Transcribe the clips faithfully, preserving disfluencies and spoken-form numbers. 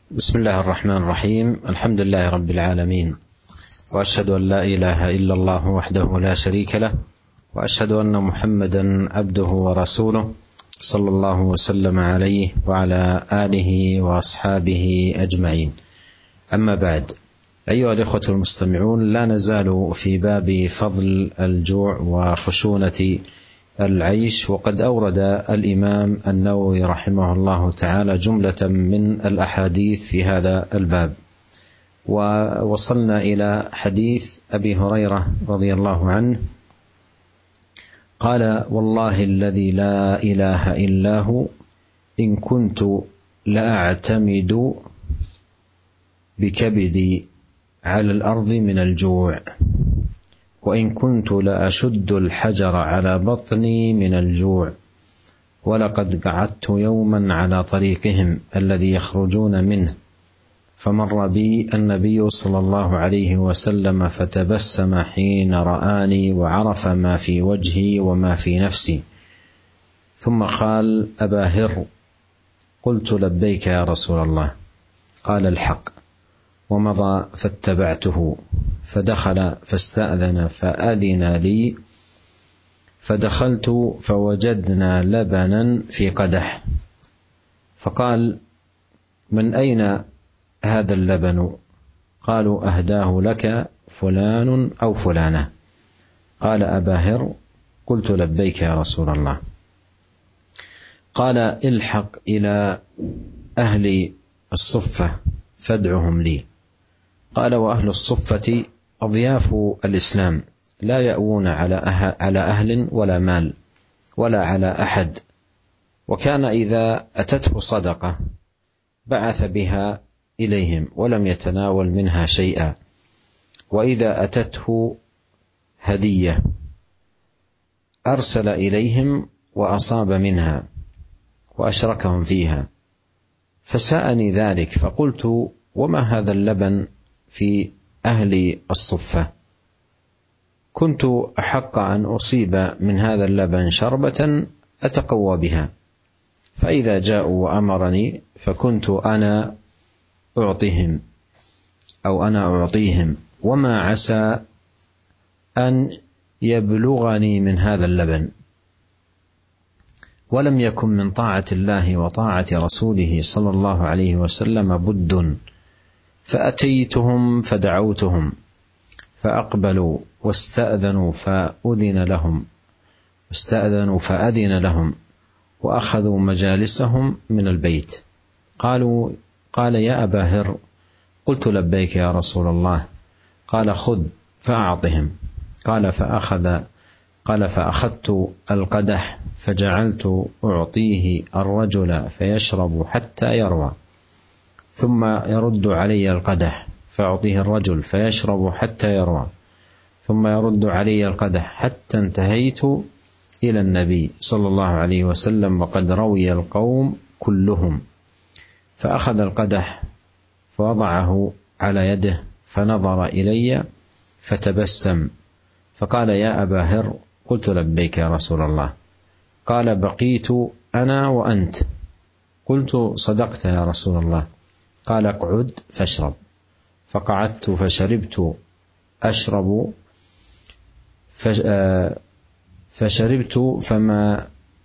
بسم الله الرحمن الرحيم. الحمد لله رب العالمين، وأشهد أن لا إله إلا الله وحده لا شريك له، وأشهد أن محمدا عبده ورسوله صلى الله وسلم عليه وعلى آله وأصحابه أجمعين. أما بعد، أيها الإخوة المستمعون، لا نزال في باب فضل الجوع وخشونة العيش، وقد أورد الإمام النووي رحمه الله تعالى جملة من الأحاديث في هذا الباب، ووصلنا إلى حديث أبي هريرة رضي الله عنه قال: والله الذي لا إله إلا هو إن كنت لأعتمد بكبدي على الأرض من الجوع، وإن كنت لأشد الحجر على بطني من الجوع، ولقد قعدت يوما على طريقهم الذي يخرجون منه، فمر بي النبي صلى الله عليه وسلم فتبسم حين رآني وعرف ما في وجهي وما في نفسي، ثم قال: أبا هر. قلت: لبيك يا رسول الله. قال: الحق. ومضى فاتبعته، فدخل فاستأذن فأذن لي، فدخلت فوجدنا لبنا في قدح، فقال: من أين هذا اللبن؟ قالوا: أهداه لك فلان أو فلانة. قال: أبا هر. قلت: لبيك يا رسول الله. قال: الحق إلى أهل الصفة فادعهم لي. قال: وأهل الصفة أضياف الإسلام، لا يأوون على أهل ولا مال ولا على أحد، وكان إذا أتته صدقة بعث بها إليهم ولم يتناول منها شيئا، وإذا أتته هدية أرسل إليهم وأصاب منها وأشركهم فيها. فسأني ذلك، فقلت: وما هذا اللبن في أهل الصفة؟ كنت أحق أن أصيب من هذا اللبن شربة أتقوى بها، فإذا جاءوا وأمرني فكنت أنا أعطيهم أو أنا أعطيهم، وما عسى أن يبلغني من هذا اللبن. ولم يكن من طاعة الله وطاعة رسوله صلى الله عليه وسلم بد، فأتيتهم فدعوتهم فأقبلوا واستأذنوا فأذن لهم واستأذنوا فأذن لهم وأخذوا مجالسهم من البيت. قالوا قال: يا أبا هر. قلت: لبيك يا رسول الله. قال: خذ فأعطهم. قال: فأخذ قال فأخذت القدح فجعلت أعطيه الرجل فيشرب حتى يروى، ثم يرد علي القدح فأعطيه الرجل فيشرب حتى يروى، ثم يرد علي القدح حتى انتهيت إلى النبي صلى الله عليه وسلم وقد روي القوم كلهم، فأخذ القدح فوضعه على يده فنظر إلي فتبسم فقال: يا أبا هر. قلت: لبيك يا رسول الله. قال: بقيت أنا وأنت. قلت: صدقت يا رسول الله. قال: اقعد فاشرب. فقعدت فشربت أشرب فشربت فما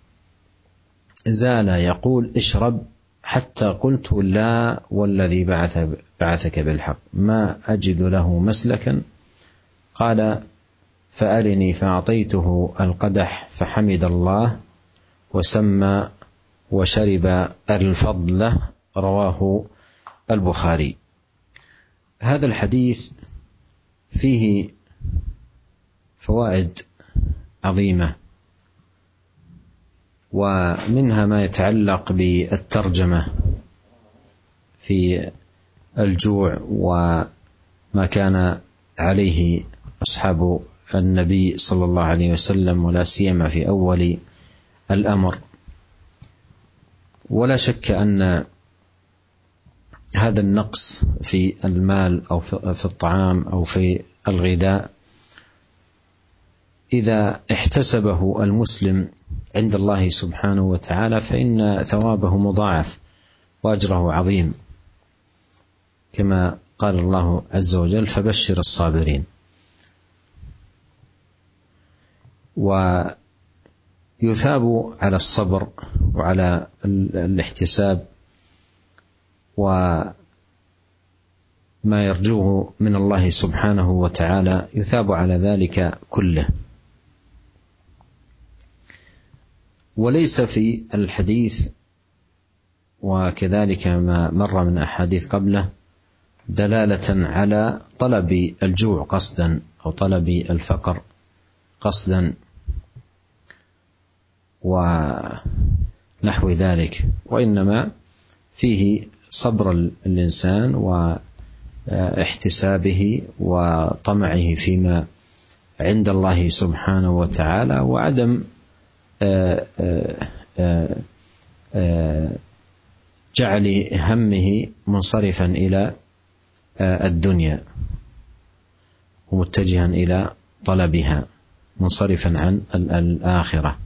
زال يقول: اشرب، حتى قلت: لا والذي بعث بعثك بالحق ما أجد له مسلكا. قال: فأرني. فأعطيته القدح فحمد الله وسمى وشرب الفضل. رواه البخاري. هذا الحديث فيه فوائد عظيمة، ومنها ما يتعلق بالترجمة في الجوع وما كان عليه أصحاب النبي صلى الله عليه وسلم، ولا سيما في أول الأمر. ولا شك أن هذا النقص في المال أو في الطعام أو في الغذاء إذا احتسبه المسلم عند الله سبحانه وتعالى فإن ثوابه مضاعف وأجره عظيم. كما قال الله عز وجل: فبشر الصابرين. ويثاب على الصبر وعلى الاحتساب وما يرجوه من الله سبحانه وتعالى، يثاب على ذلك كله. وليس في الحديث وكذلك ما مر من أحاديث قبله دلالة على طلب الجوع قصدا أو طلب الفقر قصدا ونحو ذلك، وإنما فيه صبر الإنسان واحتسابه وطمعه فيما عند الله سبحانه وتعالى، وعدم جعل همه منصرفا إلى الدنيا ومتجها إلى طلبها، منصرفا عن الآخرة.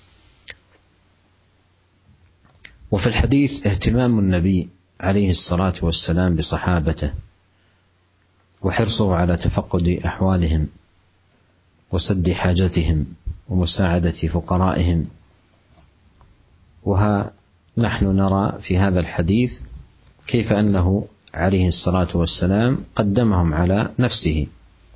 وفي الحديث اهتمام النبي عليه الصلاة والسلام بصحابته وحرصه على تفقد أحوالهم وسد حاجتهم ومساعدة فقرائهم. وها نحن نرى في هذا الحديث كيف أنه عليه الصلاة والسلام قدمهم على نفسه،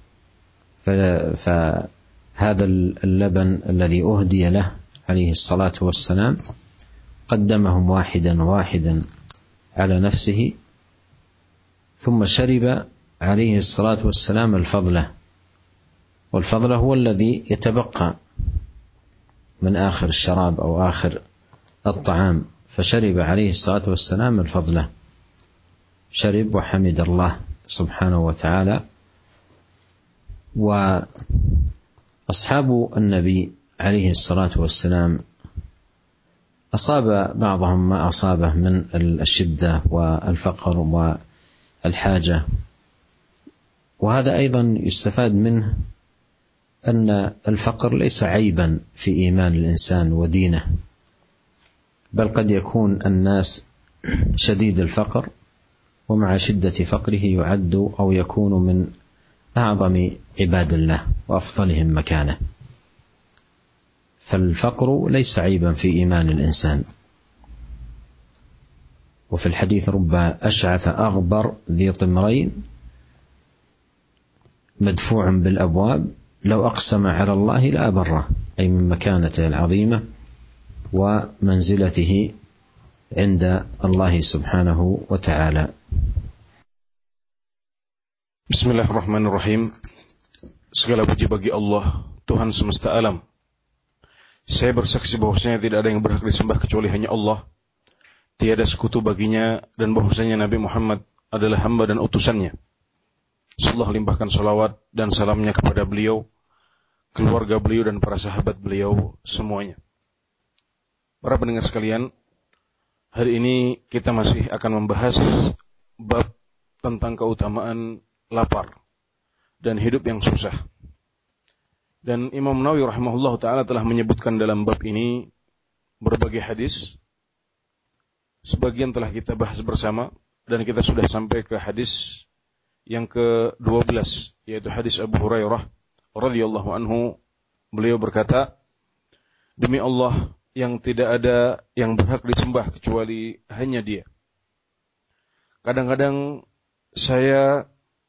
فهذا اللبن الذي أهدي له عليه الصلاة والسلام قدمهم واحدا واحدا على نفسه، ثم شرب عليه الصلاة والسلام الفضلة، والفضلة هو الذي يتبقى من آخر الشراب أو آخر الطعام، فشرب عليه الصلاة والسلام الفضلة، شرب وحمد الله سبحانه وتعالى. وأصحاب النبي عليه الصلاة والسلام أصاب بعضهم ما أصابه من الشدة والفقر والحاجة، وهذا أيضا يستفاد منه أن الفقر ليس عيبا في إيمان الإنسان ودينه، بل قد يكون الناس شديد الفقر ومع شدة فقره يعد أو يكون من أعظم عباد الله وأفضلهم مكانة، فالفقر ليس عيبا في إيمان الإنسان. وفي الحديث: رب أشعث أغبر ذي طمرين مدفوع بالأبواب لو أقسم على الله لأبره، أي من مكانته العظيمة ومنزلته عند الله سبحانه وتعالى. Bismillahirrahmanirrahim. Segala puji bagi Allah, Tuhan semesta alam. Saya bersaksi bahwasanya tidak ada yang berhak disembah kecuali hanya Allah, tiada sekutu baginya, dan bahwasanya Nabi Muhammad adalah hamba dan utusannya. Allah limpahkan salawat dan salamnya kepada beliau, keluarga beliau dan para sahabat beliau semuanya. Para pendengar sekalian, hari ini kita masih akan membahas bab tentang keutamaan lapar dan hidup yang susah. Dan Imam Nawawi rahimahullah ta'ala telah menyebutkan dalam bab ini berbagai hadis. Sebagian telah kita bahas bersama, dan kita sudah sampai ke hadis yang ke dua belas, yaitu hadis Abu Hurairah radhiyallahu anhu. Beliau berkata, demi Allah yang tidak ada yang berhak disembah kecuali hanya Dia. Kadang-kadang saya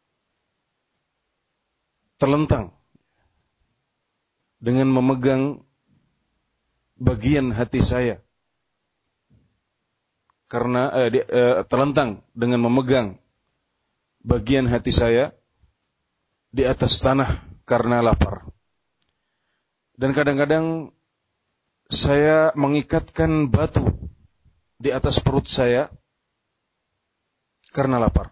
terlentang dengan memegang bagian hati saya, karena eh, di, eh, terlentang dengan memegang bagian hati saya di atas tanah karena lapar. Dan kadang-kadang saya mengikatkan batu di atas perut saya karena lapar.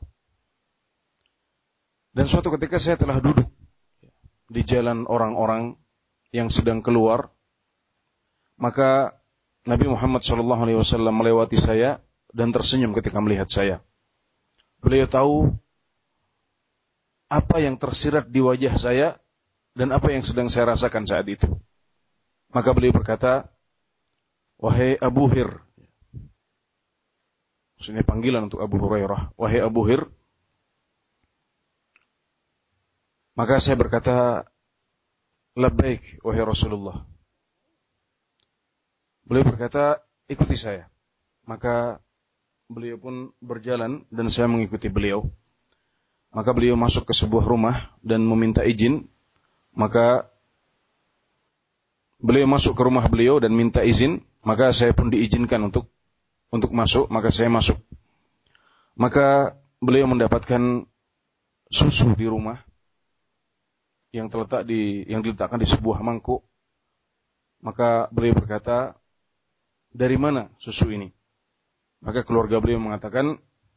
Dan suatu ketika saya telah duduk di jalan orang-orang yang sedang keluar, maka Nabi Muhammad shallallahu alaihi wasallam melewati saya dan tersenyum ketika melihat saya. Beliau tahu apa yang tersirat di wajah saya dan apa yang sedang saya rasakan saat itu. Maka beliau berkata, wahai Abu Hir, maksudnya panggilan untuk Abu Hurairah, wahai Abu Hir, Maka saya berkata, labbaik wahai Rasulullah. Beliau berkata, ikuti saya. Maka beliau pun berjalan dan saya mengikuti beliau. Maka beliau masuk ke sebuah rumah dan meminta izin. Maka beliau masuk ke rumah beliau dan minta izin. Maka saya pun diizinkan untuk untuk masuk. Maka saya masuk. Maka beliau mendapatkan susu di rumah yang terletak di yang diletakkan di sebuah mangkuk. Maka beliau berkata, dari mana susu ini? Maka keluarga beliau mengatakan,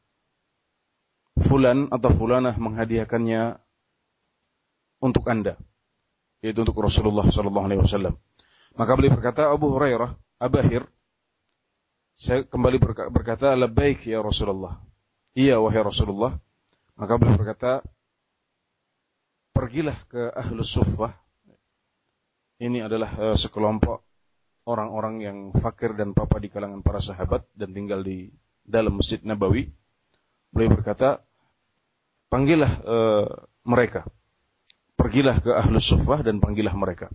fulan atau fulanah menghadiahkannya untuk Anda, yaitu untuk Rasulullah sallallahu alaihi wasallam. Maka beliau berkata, Abu Hurairah, Abahir, saya kembali berkata, labbaik ya Rasulullah. Iya wahai Rasulullah. Maka beliau berkata, pergilah ke Ahlus Suffah. Ini adalah uh, sekelompok orang-orang yang fakir dan papa di kalangan para sahabat dan tinggal di dalam Masjid Nabawi. Beliau berkata, panggillah uh, mereka. Pergilah ke Ahlus Suffah dan panggillah mereka.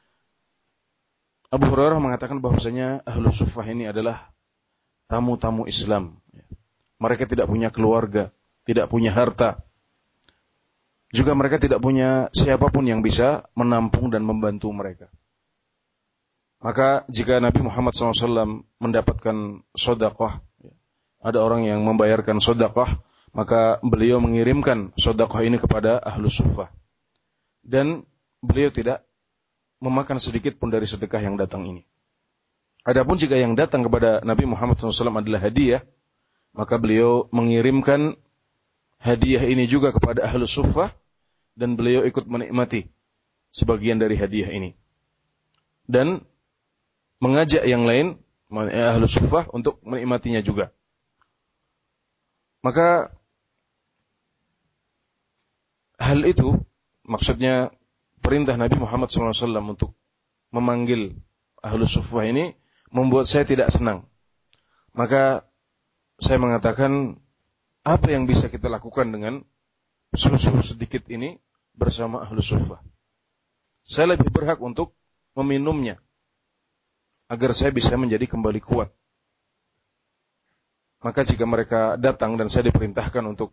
Abu Hurairah mengatakan bahwasanya Ahlus Suffah ini adalah tamu-tamu Islam. Mereka tidak punya keluarga, tidak punya harta. Juga mereka tidak punya siapapun yang bisa menampung dan membantu mereka. Maka jika Nabi Muhammad shallallahu alaihi wasallam mendapatkan sedekah, ada orang yang membayarkan sedekah, maka beliau mengirimkan sedekah ini kepada Ahlus Suffah. Dan beliau tidak memakan sedikit pun dari sedekah yang datang ini. Adapun jika yang datang kepada Nabi Muhammad shallallahu alaihi wasallam adalah hadiah, maka beliau mengirimkan hadiah ini juga kepada Ahlus Suffah, dan beliau ikut menikmati sebagian dari hadiah ini. Dan mengajak yang lain, Ahlus Suffah, untuk menikmatinya juga. Maka hal itu, maksudnya perintah Nabi Muhammad shallallahu alaihi wasallam untuk memanggil Ahlus Suffah ini, membuat saya tidak senang. Maka saya mengatakan, apa yang bisa kita lakukan dengan susu sedikit ini bersama Ahlus Suffah? Saya lebih berhak untuk meminumnya agar saya bisa menjadi kembali kuat. Maka jika mereka datang dan saya diperintahkan untuk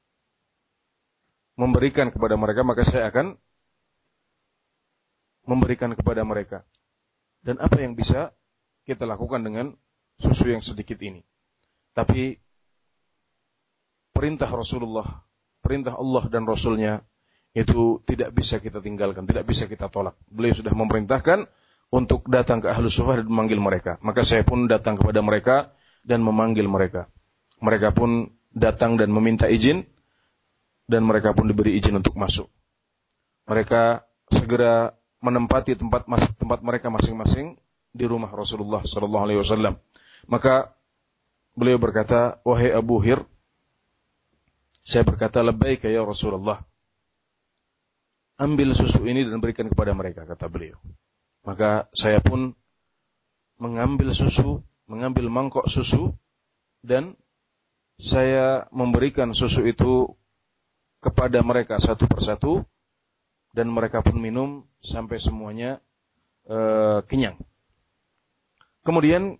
memberikan kepada mereka, maka saya akan memberikan kepada mereka. Dan apa yang bisa kita lakukan dengan susu yang sedikit ini? Tapi perintah Rasulullah, perintah Allah dan Rasulnya itu tidak bisa kita tinggalkan, tidak bisa kita tolak. Beliau sudah memerintahkan untuk datang ke Ahlus Suffah dan memanggil mereka. Maka saya pun datang kepada mereka dan memanggil mereka. Mereka pun datang dan meminta izin, dan mereka pun diberi izin untuk masuk. Mereka segera menempati tempat tempat mereka masing-masing di rumah Rasulullah sallallahu alaihi wasallam. Maka beliau berkata, wahai Abu Hir, saya berkata, labbaik ya Rasulullah. Ambil susu ini dan berikan kepada mereka, kata beliau. Maka saya pun mengambil susu, mengambil mangkok susu, dan saya memberikan susu itu kepada mereka satu persatu, dan mereka pun minum sampai semuanya uh, kenyang. Kemudian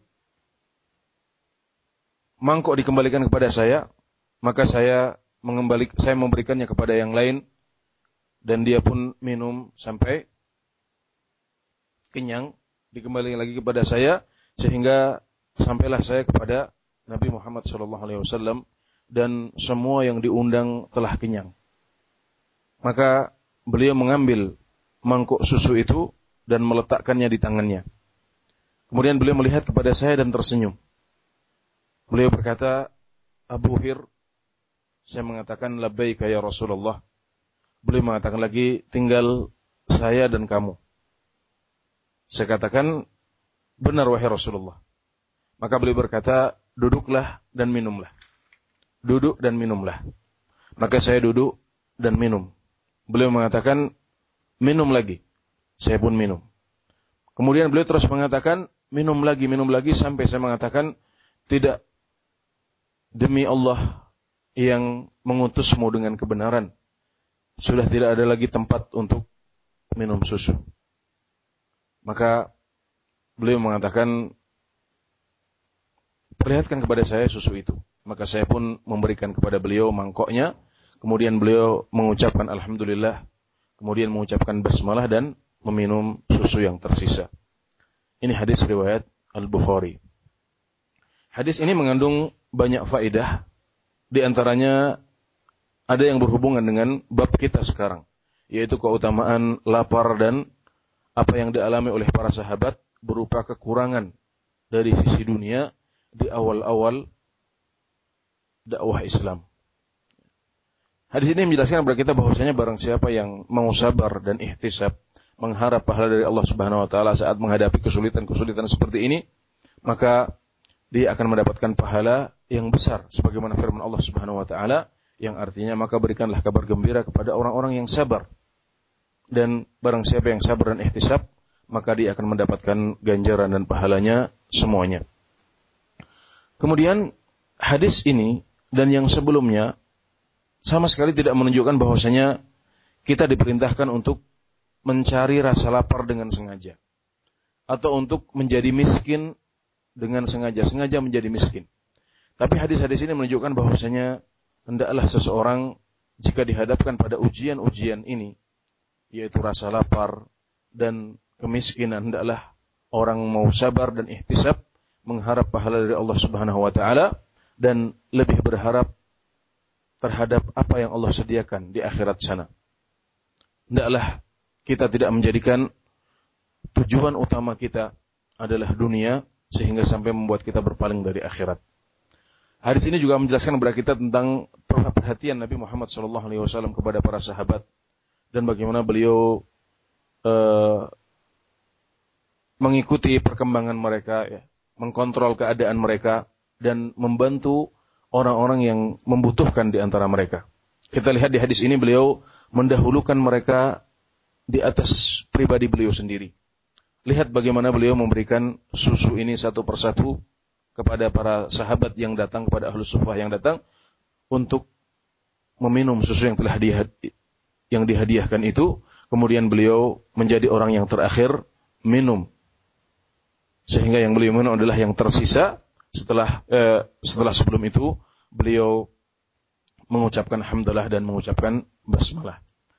mangkok dikembalikan kepada saya, maka saya mengembalik, saya memberikannya kepada yang lain, dan dia pun minum sampai kenyang, dikembalikan lagi kepada saya, sehingga sampailah saya kepada Nabi Muhammad sallallahu alaihi wasallam, dan semua yang diundang telah kenyang. Maka beliau mengambil mangkuk susu itu dan meletakkannya di tangannya. Kemudian beliau melihat kepada saya dan tersenyum. Beliau berkata, Abu Hir, saya mengatakan labbaik ya Rasulullah. Beliau mengatakan lagi, tinggal saya dan kamu. Saya katakan, benar wahai Rasulullah. Maka beliau berkata, duduklah dan minumlah. Duduk dan minumlah. Maka saya duduk dan minum. Beliau mengatakan, minum lagi. Saya pun minum. Kemudian beliau terus mengatakan, minum lagi, minum lagi, sampai saya mengatakan, tidak, demi Allah yang mengutusmu dengan kebenaran, sudah tidak ada lagi tempat untuk minum susu. Maka beliau mengatakan, perlihatkan kepada saya susu itu. Maka saya pun memberikan kepada beliau mangkoknya. Kemudian beliau mengucapkan alhamdulillah. Kemudian mengucapkan basmalah dan meminum susu yang tersisa. Ini hadis riwayat Al-Bukhari. Hadis ini mengandung banyak faedah. Di antaranya ada yang berhubungan dengan bab kita sekarang, yaitu keutamaan lapar dan apa yang dialami oleh para sahabat berupa kekurangan dari sisi dunia di awal-awal dakwah Islam. Hadis ini menjelaskan kepada kita bahwasanya barang siapa yang mau sabar dan ihtisab, mengharap pahala dari Allah Subhanahu wa taala saat menghadapi kesulitan-kesulitan seperti ini, maka dia akan mendapatkan pahala yang besar sebagaimana firman Allah Subhanahu wa taala yang artinya maka berikanlah kabar gembira kepada orang-orang yang sabar. Dan barang siapa yang sabar dan ihtisab, maka dia akan mendapatkan ganjaran dan pahalanya semuanya. Kemudian hadis ini dan yang sebelumnya sama sekali tidak menunjukkan bahwasanya kita diperintahkan untuk mencari rasa lapar dengan sengaja, atau untuk menjadi miskin dengan sengaja, sengaja menjadi miskin. Tapi hadis-hadis ini menunjukkan bahwasanya hendaklah seseorang jika dihadapkan pada ujian-ujian ini, yaitu rasa lapar dan kemiskinan, hendaklah orang mau sabar dan ihtisab, mengharap pahala dari Allah Subhanahu wa taala dan lebih berharap terhadap apa yang Allah sediakan di akhirat sana. Hendaklah kita tidak menjadikan tujuan utama kita adalah dunia sehingga sampai membuat kita berpaling dari akhirat. Hadis ini juga menjelaskan kepada kita tentang perhatian Nabi Muhammad shallallahu alaihi wasallam kepada para sahabat dan bagaimana beliau uh, mengikuti perkembangan mereka, ya, mengkontrol keadaan mereka dan membantu orang-orang yang membutuhkan di antara mereka. Kita lihat di hadis ini beliau mendahulukan mereka di atas pribadi beliau sendiri. Lihat bagaimana beliau memberikan susu ini satu persatu kepada para sahabat yang datang, kepada Ahlus Suffah yang datang untuk meminum susu yang telah dihadi- yang dihadiahkan itu. Kemudian beliau menjadi orang yang terakhir minum, sehingga yang beliau minum adalah yang tersisa. Setelah eh, setelah sebelum itu beliau mengucapkan hamdalah dan mengucapkan basmalah.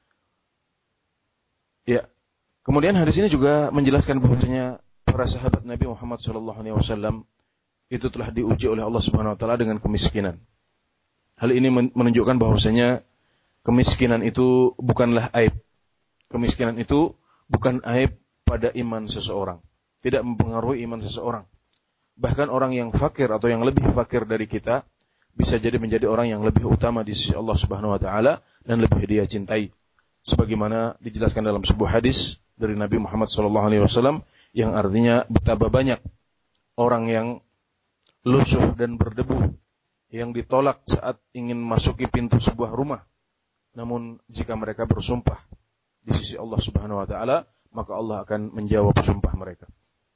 Ya. Kemudian hadis ini juga menjelaskan bahwasanya para sahabat Nabi Muhammad shallallahu alaihi wasallam itu telah diuji oleh Allah Subhanahu wa taala dengan kemiskinan. Hal ini menunjukkan bahwasanya kemiskinan itu bukanlah aib. Kemiskinan itu bukan aib pada iman seseorang. Tidak mempengaruhi iman seseorang. Bahkan orang yang fakir atau yang lebih fakir dari kita bisa jadi menjadi orang yang lebih utama di sisi Allah Subhanahu wa taala dan lebih dia cintai. Sebagaimana dijelaskan dalam sebuah hadis dari Nabi Muhammad shallallahu alaihi wasallam yang artinya betapa banyak orang yang lusuh dan berdebu yang ditolak saat ingin masuki pintu sebuah rumah. Namun jika mereka bersumpah di sisi Allah Subhanahu wa taala, maka Allah akan menjawab sumpah mereka.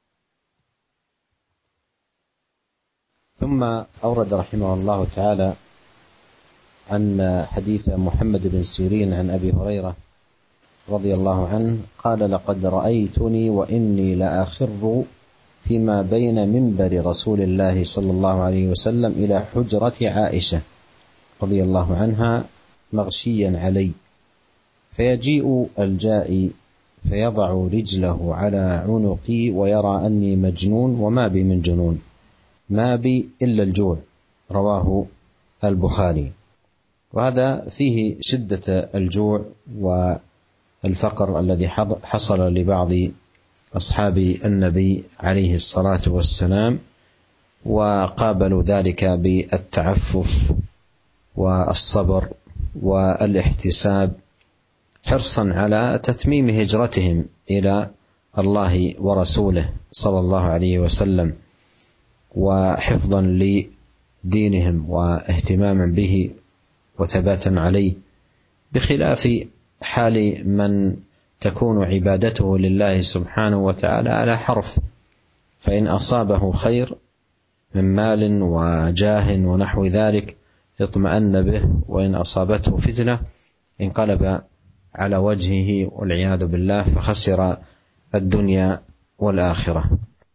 ثم أورد رحمه الله تعالى عن حديث محمد بن سيرين عن أبي هريرة رضي الله عنه قال لقد رأيتني وإني لأخر فيما بين منبر رسول الله صلى الله عليه وسلم إلى حجرة عائشة رضي الله عنها مغشيا علي فيجيء الجائي فيضع رجله على عنقي ويرى أني مجنون وما بي من جنون ما بي إلا الجوع. رواه البخاري. وهذا فيه شدة الجوع والفقر الذي حصل لبعض أصحاب النبي عليه الصلاة والسلام وقابلوا ذلك بالتعفف والصبر والاحتساب حرصا على تتميم هجرتهم إلى الله ورسوله صلى الله عليه وسلم وحفظا لدينهم واهتماما به وثباتا عليه، بخلاف حال من تكون عبادته لله سبحانه وتعالى على حرف، فإن أصابه خير من مال وجاه ونحو ذلك اطمأن به، وإن أصابته فتنة انقلب على وجهه والعياذ بالله فخسر الدنيا والآخرة.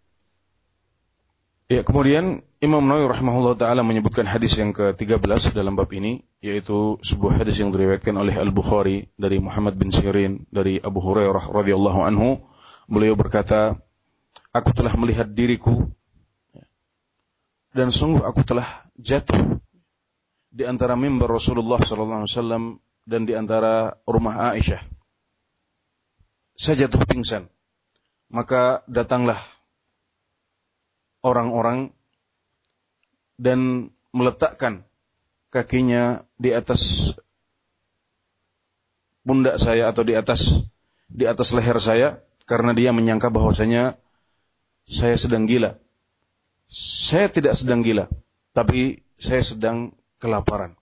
Ya, kemudian Imam Nawawi rahimahullah ta'ala menyebutkan hadis yang ke tiga belas dalam bab ini, yaitu sebuah hadis yang diriwayatkan oleh Al-Bukhari dari Muhammad bin Sirin dari Abu Hurairah radhiyallahu anhu. Beliau berkata, aku telah melihat diriku dan sungguh aku telah jatuh di antara mimbar Rasulullah sallallahu alaihi wasallam dan di antara rumah Aisyah. Saya jatuh pingsan. Maka datanglah orang-orang dan meletakkan kakinya di atas pundak saya atau di atas di atas leher saya karena dia menyangka bahwasanya saya sedang gila. Saya tidak sedang gila, tapi saya sedang kelaparan.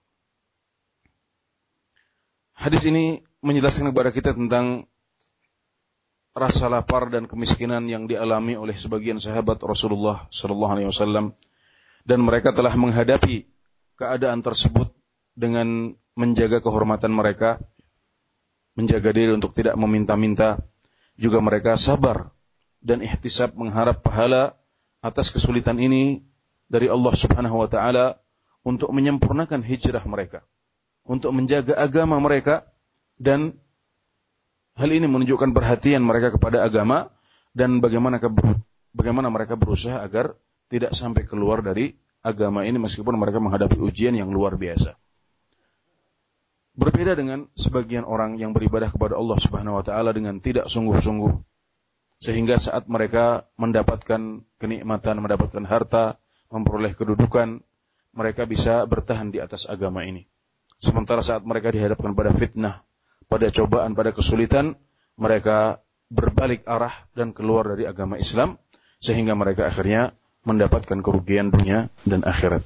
Hadis ini menjelaskan kepada kita tentang rasa lapar dan kemiskinan yang dialami oleh sebagian sahabat Rasulullah sallallahu alaihi wasallam, dan mereka telah menghadapi keadaan tersebut dengan menjaga kehormatan mereka, menjaga diri untuk tidak meminta-minta, juga mereka sabar dan ihtisab mengharap pahala atas kesulitan ini dari Allah Subhanahu wa taala untuk menyempurnakan hijrah mereka, untuk menjaga agama mereka, dan hal ini menunjukkan perhatian mereka kepada agama dan bagaimana keber, bagaimana mereka berusaha agar tidak sampai keluar dari agama ini meskipun mereka menghadapi ujian yang luar biasa. Berbeda dengan sebagian orang yang beribadah kepada Allah Subhanahu wa taala dengan tidak sungguh-sungguh, sehingga saat mereka mendapatkan kenikmatan, mendapatkan harta, memperoleh kedudukan, mereka bisa bertahan di atas agama ini. Sementara saat mereka dihadapkan pada fitnah, pada cobaan, pada kesulitan, mereka berbalik arah dan keluar dari agama Islam, sehingga mereka akhirnya mendapatkan kerugian dunia dan akhirat.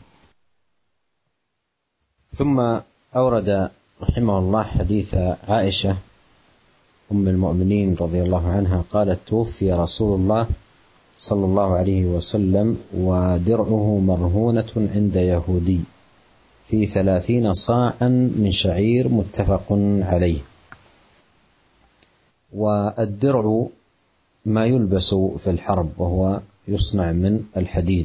ثم أورد رحمه الله حديث عائشة أم المؤمنين رضي الله عنها قالت توفي رسول الله صلى الله عليه وسلم ودرعه مرهونة عند يهودي في ثلاثين صاعا من شعير متفق عليه. والدرع ما يلبس في الحرب وهو يصنع من الحديد.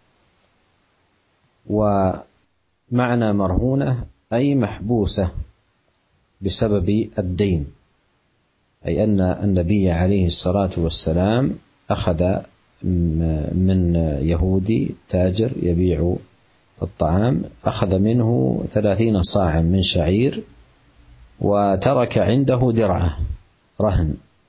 ومعنى مرهونة أي محبوسة بسبب الدين، أي أن النبي عليه الصلاة والسلام أخذ من يهودي تاجر يبيع الطعام، أخذ منه ثلاثين صاعا من شعير وترك عنده درعه رهن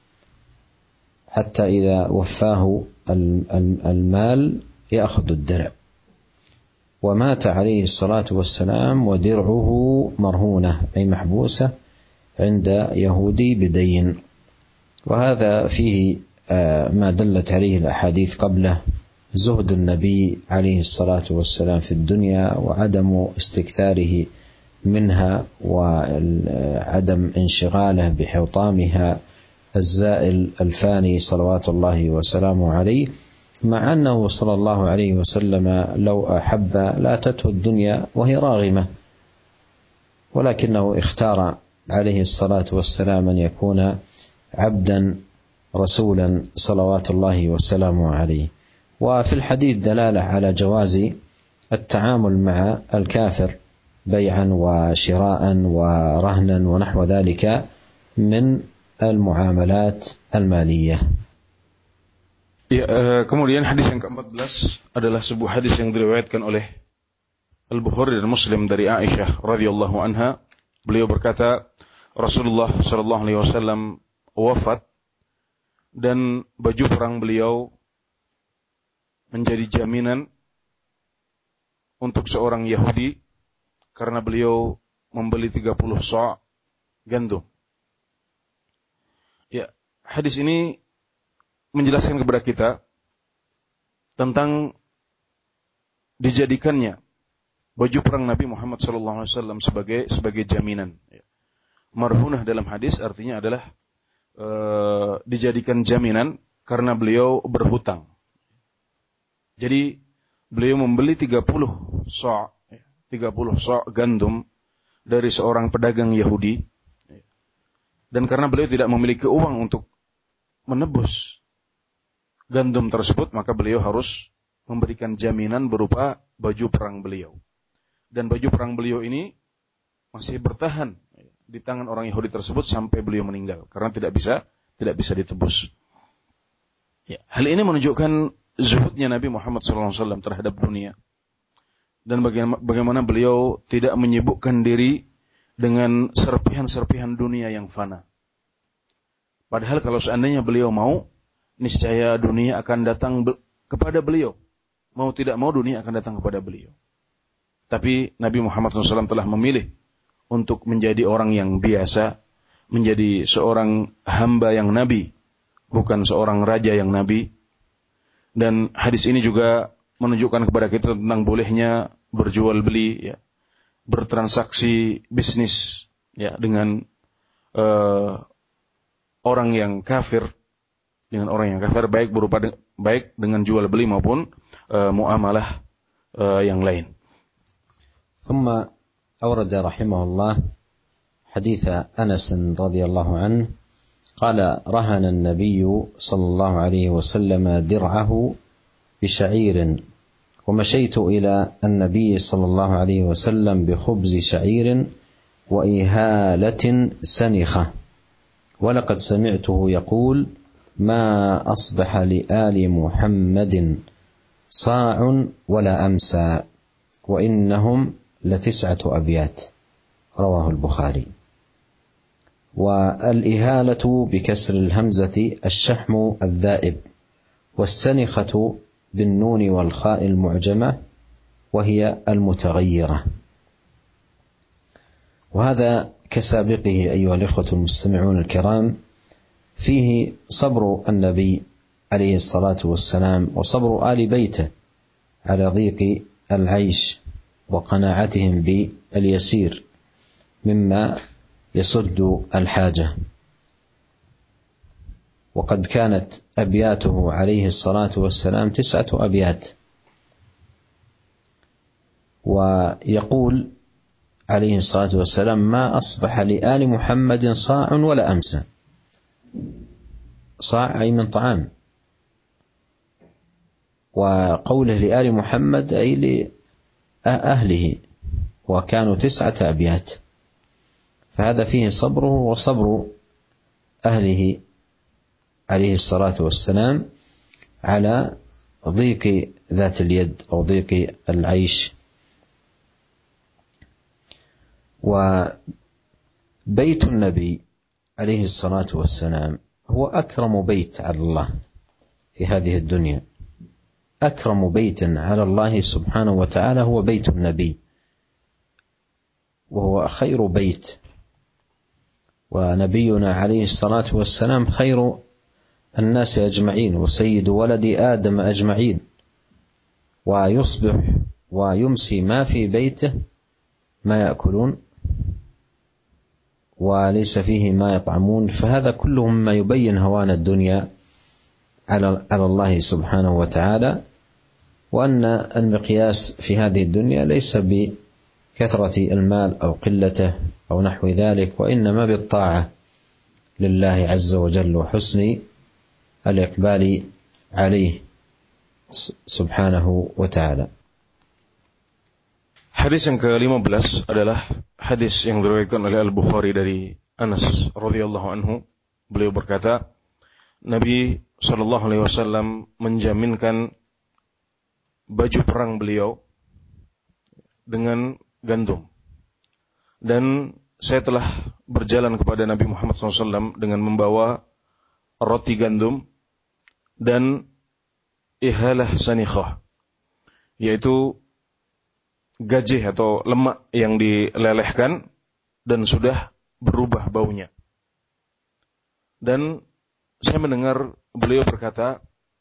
حتى إذا وفاه المال يأخذ الدرع. ومات عليه الصلاة والسلام ودرعه مرهونة أي محبوسة عند يهودي بدين. وهذا فيه ما دلت عليه الأحاديث قبله، زهد النبي عليه الصلاة والسلام في الدنيا وعدم استكثاره منها وعدم انشغاله بحطامها الزائل الفاني صلوات الله وسلامه عليه، مع أنه صلى الله عليه وسلم لو أحب لاتته الدنيا وهي راغمة، ولكنه اختار عليه الصلاة والسلام أن يكون عبدا رسولا صلوات الله وسلامه عليه. وفي الحديث دلالة على جواز التعامل مع الكافر بيعا وشراء ورهنا ونحو ذلك من المعاملات المالية. Ya, uh, kemudian hadis yang keempat belas adalah sebuah hadis yang diriwayatkan oleh Al-Bukhari dan Muslim dari Aisyah radhiyallahu anha. Beliau berkata, Rasulullah sallallahu alaihi wasallam wafat dan baju perang beliau menjadi jaminan untuk seorang Yahudi karena beliau membeli tiga puluh sa' gandum. Ya, hadis ini menjelaskan kepada kita tentang dijadikannya baju perang Nabi Muhammad sallallahu alaihi wasallam sebagai sebagai jaminan. Marhunah dalam hadis artinya adalah e, dijadikan jaminan karena beliau berhutang. Jadi beliau membeli tiga puluh sa', tiga puluh sa' gandum dari seorang pedagang Yahudi Dan karena beliau tidak memiliki uang untuk menebus gandum tersebut, maka beliau harus memberikan jaminan berupa baju perang beliau. Dan baju perang beliau ini masih bertahan di tangan orang Yahudi tersebut sampai beliau meninggal, karena tidak bisa tidak bisa ditebus. Ya, hal ini menunjukkan zuhudnya Nabi Muhammad shallallahu alaihi wasallam terhadap dunia, dan bagaimana beliau tidak menyibukkan diri dengan serpihan-serpihan dunia yang fana. Padahal kalau seandainya beliau mau, niscaya dunia akan datang be- kepada beliau. Mau tidak mau dunia akan datang kepada beliau. Tapi Nabi Muhammad shallallahu alaihi wasallam telah memilih untuk menjadi orang yang biasa, menjadi seorang hamba yang nabi, bukan seorang raja yang nabi. Dan hadis ini juga menunjukkan kepada kita tentang bolehnya berjual beli, ya, bertransaksi bisnis, ya, dengan uh, orang yang kafir, dengan orang yang kafir, baik berupa de- baik dengan jual beli maupun uh, muamalah uh, yang lain. ثم أورد رحمه الله حديث أنس رضي الله عنه قال: رهن النبي صلى الله عليه وسلم درعه بشعير، ومشيت إلى النبي صلى الله عليه وسلم بخبز شعير وإهالة سنخة، ولقد سمعته يقول: ما أصبح لآل محمد صاع ولا أمسى، وإنهم لتسعة أبيات. رواه البخاري. والإهالة بكسر الهمزة الشحم الذائب، والسنخة بالنون والخاء المعجمة وهي المتغيرة. وهذا كسابقه أيها الإخوة المستمعون الكرام فيه صبر النبي عليه الصلاة والسلام وصبر آل بيته على ضيق العيش وقناعتهم باليسير مما يسد الحاجة. وقد كانت أبياته عليه الصلاة والسلام تسعة أبيات، ويقول عليه الصلاة والسلام: ما أصبح لآل محمد صاع ولا أمسى. صاع أي من طعام، وقوله لآل محمد أي لأهله، وكانوا تسعة أبيات، فهذا فيه صبره وصبر أهله عليه الصلاة والسلام على ضيق ذات اليد أو ضيق العيش. وبيت النبي عليه الصلاة والسلام هو أكرم بيت على الله في هذه الدنيا. أكرم بيت على الله سبحانه وتعالى هو بيت النبي، وهو خير بيت. ونبينا عليه الصلاة والسلام خير الناس أجمعين وسيد ولد آدم أجمعين، ويصبح ويمسي ما في بيته ما يأكلون وليس فيه ما يطعمون، فهذا كله مما يبين هوان الدنيا على الله سبحانه وتعالى، وأن المقياس في هذه الدنيا ليس بكثرة المال أو قلته أو نحو ذلك، وإنما بالطاعة لله عز وجل وحسن الإقبال عليه سبحانه وتعالى. Hadis yang ke-lima belas adalah hadis yang diriwayatkan oleh Al-Bukhari dari Anas radhiyallahu anhu. Beliau berkata, Nabi sallallahu alaihi wasallam menjaminkan baju perang beliau dengan gandum. Dan saya telah berjalan kepada Nabi Muhammad sallallahu alaihi wasallam dengan membawa roti gandum dan ihalah sanikhah, yaitu gajih atau lemak yang dilelehkan dan sudah berubah baunya. Dan saya mendengar beliau berkata,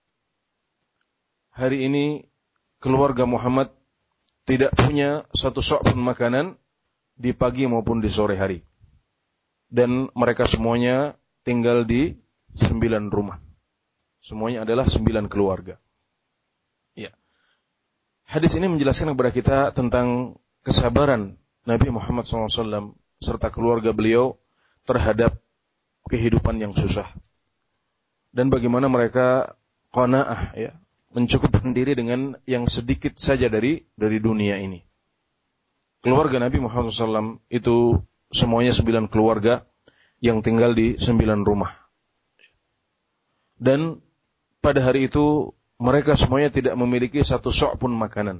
hari ini keluarga Muhammad tidak punya satu sok pun makanan di pagi maupun di sore hari. Dan mereka semuanya tinggal di sembilan rumah. Semuanya adalah sembilan keluarga. Ya. Hadis ini menjelaskan kepada kita tentang kesabaran Nabi Muhammad shallallahu alaihi wasallam serta keluarga beliau terhadap kehidupan yang susah. Dan bagaimana mereka qanaah, ya, mencukupkan diri dengan yang sedikit saja dari dari dunia ini. Keluarga Nabi Muhammad shallallahu alaihi wasallam itu semuanya sembilan keluarga yang tinggal di sembilan rumah. Dan pada hari itu mereka semuanya tidak memiliki satu sok pun makanan.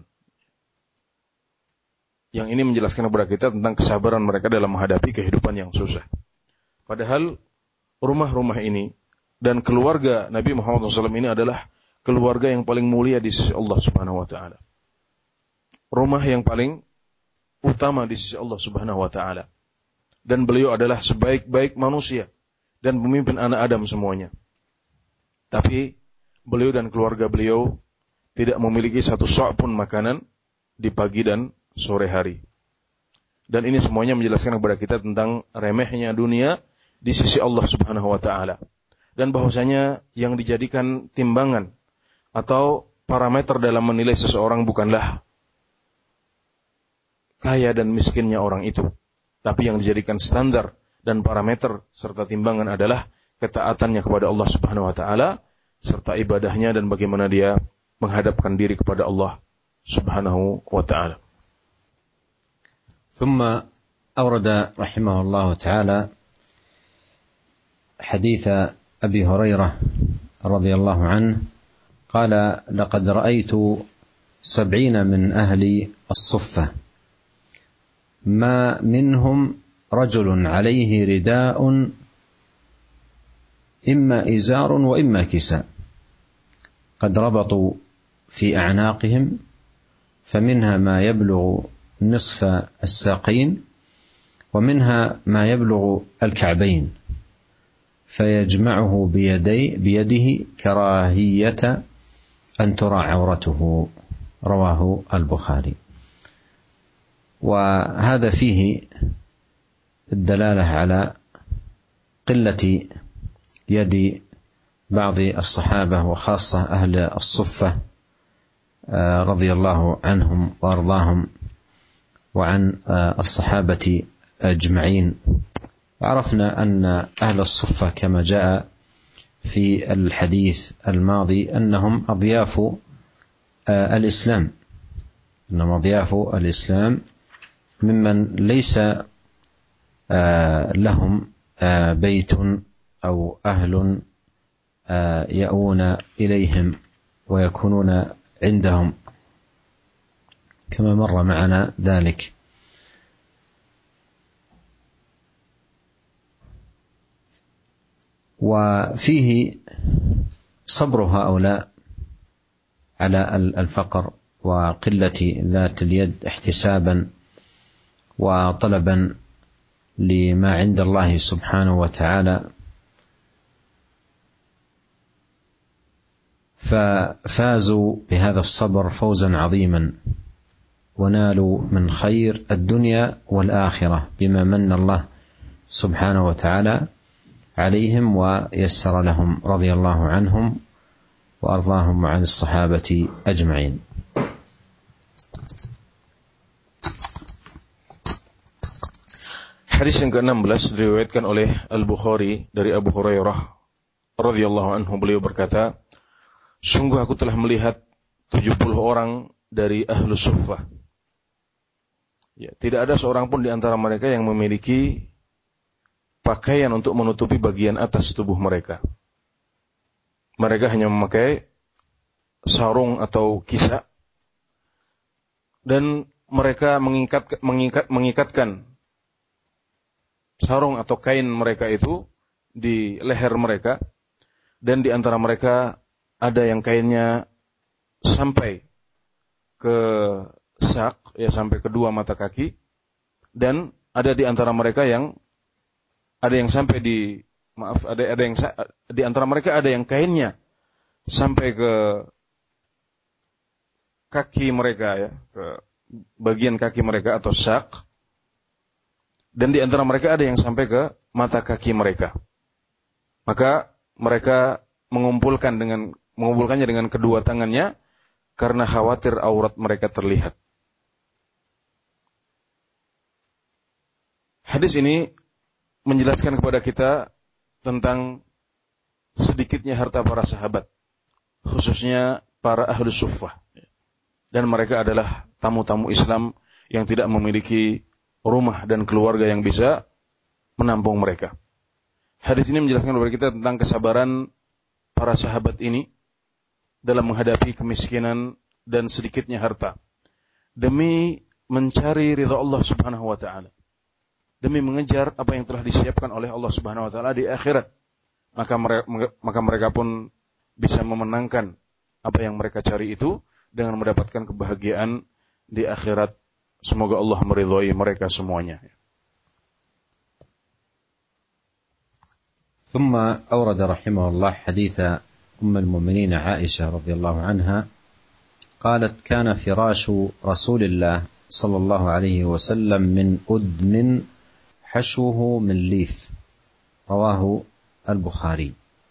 Yang ini menjelaskan kepada kita tentang kesabaran mereka dalam menghadapi kehidupan yang susah. Padahal rumah-rumah ini dan keluarga Nabi Muhammad shallallahu alaihi wasallam ini adalah keluarga yang paling mulia di sisi Allah Subhanahu wa taala. Rumah yang paling utama di sisi Allah Subhanahu wa taala. Dan beliau adalah sebaik-baik manusia dan pemimpin anak Adam semuanya. Tapi beliau dan keluarga beliau tidak memiliki satu sok pun makanan di pagi dan sore hari. Dan ini semuanya menjelaskan kepada kita tentang remehnya dunia di sisi Allah Subhanahu wa taala. Dan bahwasanya yang dijadikan timbangan atau parameter dalam menilai seseorang bukanlah kaya dan miskinnya orang itu, tapi yang dijadikan standar dan parameter serta timbangan adalah ketaatannya kepada Allah Subhanahu wa taala serta ibadahnya dan bagaimana dia menghadapkan diri kepada Allah Subhanahu wa taala. ثم أورد رحمه الله تعالى حديث أبي هريرة رضي الله عنه قال لقد رأيت سبعين من أهل الصفة ما منهم رجل عليه رداء إما إزار وإما كساء قد ربطوا في أعناقهم فمنها ما يبلغ نصف الساقين ومنها ما يبلغ الكعبين فيجمعه بيدي بيده كراهية أن ترى عورته رواه البخاري. وهذا فيه الدلالة على قلة يد بعض الصحابة وخاصة أهل الصفة رضي الله عنهم وأرضاهم وعن الصحابة أجمعين. عرفنا أن أهل الصفة كما جاء في الحديث الماضي أنهم أضياف الإسلام أنهم أضياف الإسلام ممن ليس لهم بيت أو أهل يأوون إليهم ويكونون عندهم كما مر معنا ذلك. وفيه صبر هؤلاء على الفقر وقلة ذات اليد احتسابا وطلبا لما عند الله سبحانه وتعالى، ففازوا بهذا الصبر فوزا عظيما ونالوا من خير الدنيا والآخرة بما من الله سبحانه وتعالى عليهم ويسر لهم رضي الله عنهم وأرضاهم وعن الصحابة أجمعين. Hadis yang ke-enam belas diriwayatkan oleh Al-Bukhari dari Abu Hurairah radhiyallahu anhu, beliau berkata, sungguh aku telah melihat tujuh puluh orang dari Ahlus Suffah. Ya, tidak ada seorang pun di antara mereka yang memiliki pakaian untuk menutupi bagian atas tubuh mereka. Mereka hanya memakai sarung atau kisah, dan mereka mengikat, mengikat, mengikatkan sarung atau kain mereka itu di leher mereka, dan di antara mereka ada yang kainnya sampai ke sak, ya sampai kedua mata kaki, dan ada di antara mereka yang ada yang sampai di maaf ada ada yang di antara mereka ada yang kainnya sampai ke kaki mereka, ya, ke bagian kaki mereka atau sak, dan di antara mereka ada yang sampai ke mata kaki mereka. Maka mereka mengumpulkan dengan mengumpulkannya dengan kedua tangannya karena khawatir aurat mereka terlihat. Hadis ini menjelaskan kepada kita tentang sedikitnya harta para sahabat, khususnya para ahlu suffah. Dan mereka adalah tamu-tamu Islam yang tidak memiliki rumah dan keluarga yang bisa menampung mereka. Hadis ini menjelaskan kepada kita tentang kesabaran para sahabat ini dalam menghadapi kemiskinan dan sedikitnya harta, demi mencari ridha Allah Subhanahu wa taala, demi mengejar apa yang telah disiapkan oleh Allah Subhanahu wa taala di akhirat. Maka mereka, maka mereka pun bisa memenangkan apa yang mereka cari itu dengan mendapatkan kebahagiaan di akhirat. Semoga Allah meridhai mereka semuanya. ثم أورد رحمه الله حديث أم المؤمنين عائشة رضي الله عنها قالت: كان فراش رسول الله صلى الله عليه وسلم من أدم حشوه من ليف، رواه البخاري.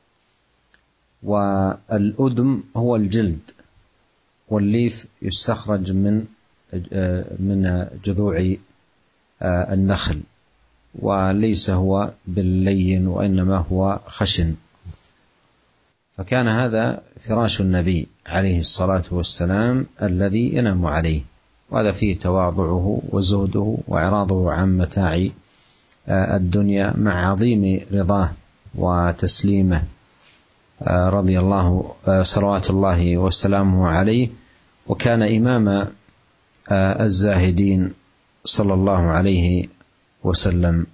والأدم هو الجلد، والليف يستخرج من من جذوع النخل، وليس هو باللين وإنما هو خشن. فكان هذا فراش النبي عليه الصلاة والسلام الذي ينام عليه، وهذا فيه تواضعه وزهده وإعراضه عن متاع الدنيا مع عظيم رضاه وتسليمه رضي الله صلوات الله وسلامه عليه، وكان إمام الزاهدين صلى الله عليه wasallam.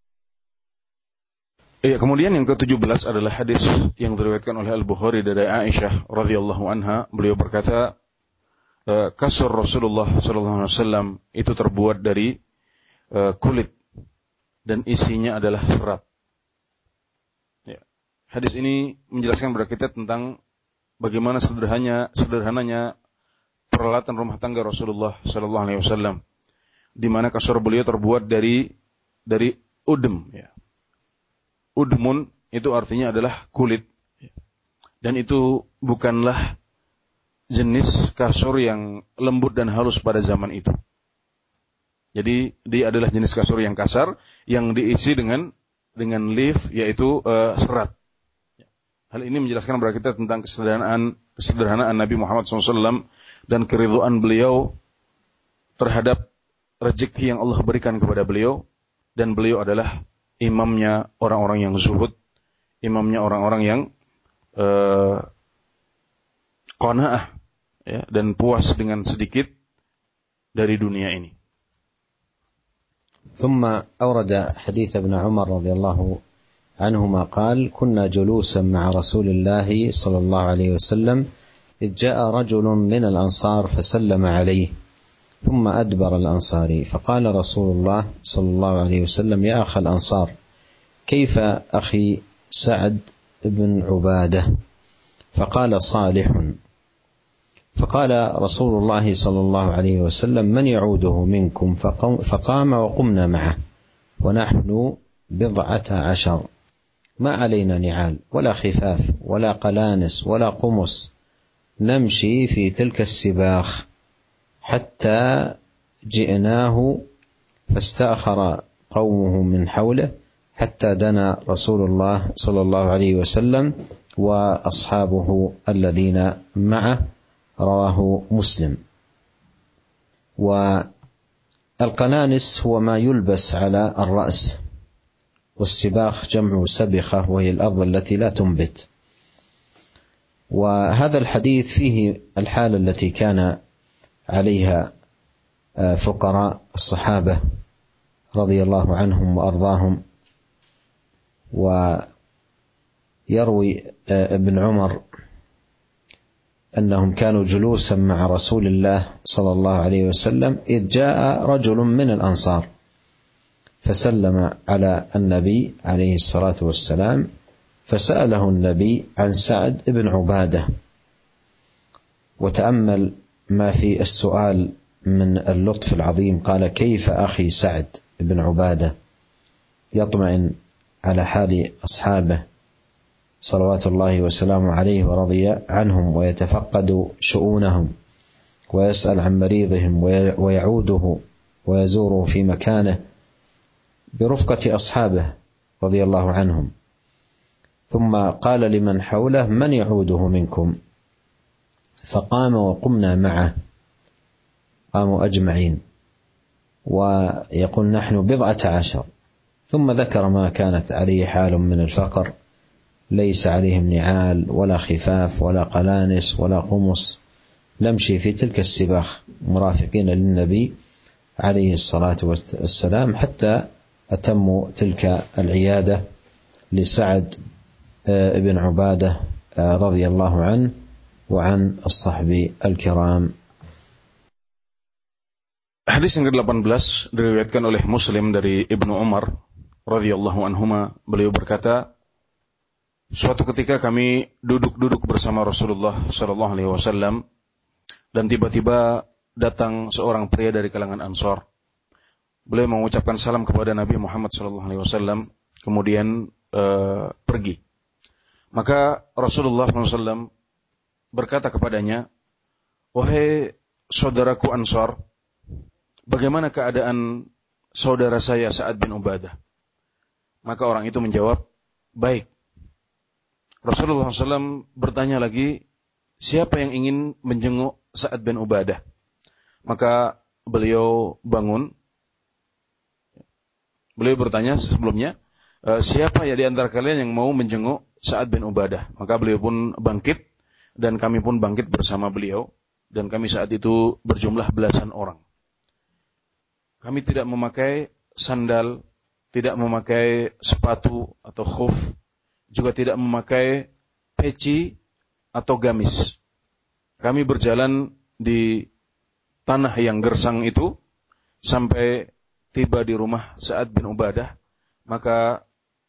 Ya, kemudian yang ketujuh belas adalah hadis yang diriwayatkan oleh Al-Bukhari dari Aisyah radhiyallahu anha. Beliau berkata, kasur Rasulullah sallallahu alaihi wasallam itu terbuat dari uh, kulit dan isinya adalah serat. Ya. Hadis ini menjelaskan kepada kita tentang bagaimana sederhananya sederhananya peralatan rumah tangga Rasulullah sallallahu alaihi wasallam, di mana kasur beliau terbuat dari dari udm, ya. Udmun itu artinya adalah kulit, dan itu bukanlah jenis kasur yang lembut dan halus pada zaman itu. Jadi dia adalah jenis kasur yang kasar yang diisi dengan dengan leaf, yaitu uh, serat. Hal ini menjelaskan kepada kita tentang kesederhanaan kesederhanaan Nabi Muhammad shallallahu alaihi wasallam dan keridhaan beliau terhadap rezeki yang Allah berikan kepada beliau, dan beliau adalah imamnya orang-orang yang zuhud, imamnya orang-orang yang uh, qanaah, ya, dan puas dengan sedikit dari dunia ini. ثم أورد حديث ابن عمر رضي الله عنهما قال: كنا جلوسا مع رسول الله صلى الله عليه وسلم إذ جاء رجل من الأنصار فسلم عليه، ثم أدبر الأنصاري، فقال رسول الله صلى الله عليه وسلم: يا أخ الأنصار، كيف أخي سعد بن عبادة؟ فقال: صالح. فقال رسول الله صلى الله عليه وسلم: من يعوده منكم؟ فقام وقمنا معه ونحن بضعة عشر، ما علينا نعال ولا خفاف ولا قلانس ولا قمص، نمشي في تلك السباخ حتى جئناه فاستأخر قومه من حوله حتى دنا رسول الله صلى الله عليه وسلم وأصحابه الذين معه، رواه مسلم. والقنانس هو ما يلبس على الرأس، والسباخ جمع سبخة وهي الأرض التي لا تنبت. وهذا الحديث فيه الحالة التي كان عليها فقراء الصحابة رضي الله عنهم وأرضاهم. ويروي ابن عمر أنهم كانوا جلوسا مع رسول الله صلى الله عليه وسلم إذ جاء رجل من الأنصار فسلم على النبي عليه الصلاة والسلام، فسأله النبي عن سعد بن عبادة، وتأمل ما في السؤال من اللطف العظيم، قال: كيف أخي سعد بن عبادة؟ يطمئن على حال أصحابه صلوات الله وسلامه عليه ورضي عنهم، ويتفقد شؤونهم ويسأل عن مريضهم ويعوده ويزوره في مكانه برفقة أصحابه رضي الله عنهم. ثم قال لمن حوله: من يعوده منكم؟ فقام وقمنا معه، قاموا أجمعين، ويقول: نحن بضعة عشر. ثم ذكر ما كانت عليه حال من الفقر، ليس عليهم نعال ولا خفاف ولا قلانس ولا قمص، نمشي في تلك السباخ مرافقين للنبي عليه الصلاة والسلام حتى أتموا تلك العيادة لسعد بن عبادة رضي الله عنه وعن الصحب الكرام. Hadis yang ke-delapan belas diriwayatkan oleh Muslim dari Ibnu Umar radhiyallahu anhuma, beliau berkata, suatu ketika kami duduk-duduk bersama Rasulullah sallallahu alaihi wasallam dan tiba-tiba datang seorang pria dari kalangan Ansor. Beliau mengucapkan salam kepada Nabi Muhammad sallallahu alaihi wasallam, kemudian uh, pergi. Maka Rasulullah sallallahu alaihi wasallam berkata kepadanya, wahai saudaraku Ansor, bagaimana keadaan saudara saya Sa'ad bin Ubadah? Maka orang itu menjawab, baik. Rasulullah sallallahu alaihi wasallam bertanya lagi, siapa yang ingin menjenguk Sa'ad bin Ubadah? Maka beliau bangun. Beliau bertanya sebelumnya, siapa ya di antara kalian yang mau menjenguk Sa'ad bin Ubadah? Maka beliau pun bangkit, dan kami pun bangkit bersama beliau, dan kami saat itu berjumlah belasan orang. Kami tidak memakai sandal, tidak memakai sepatu atau khuf, juga tidak memakai peci atau gamis. Kami berjalan di tanah yang gersang itu sampai tiba di rumah Sa'ad bin Ubadah. Maka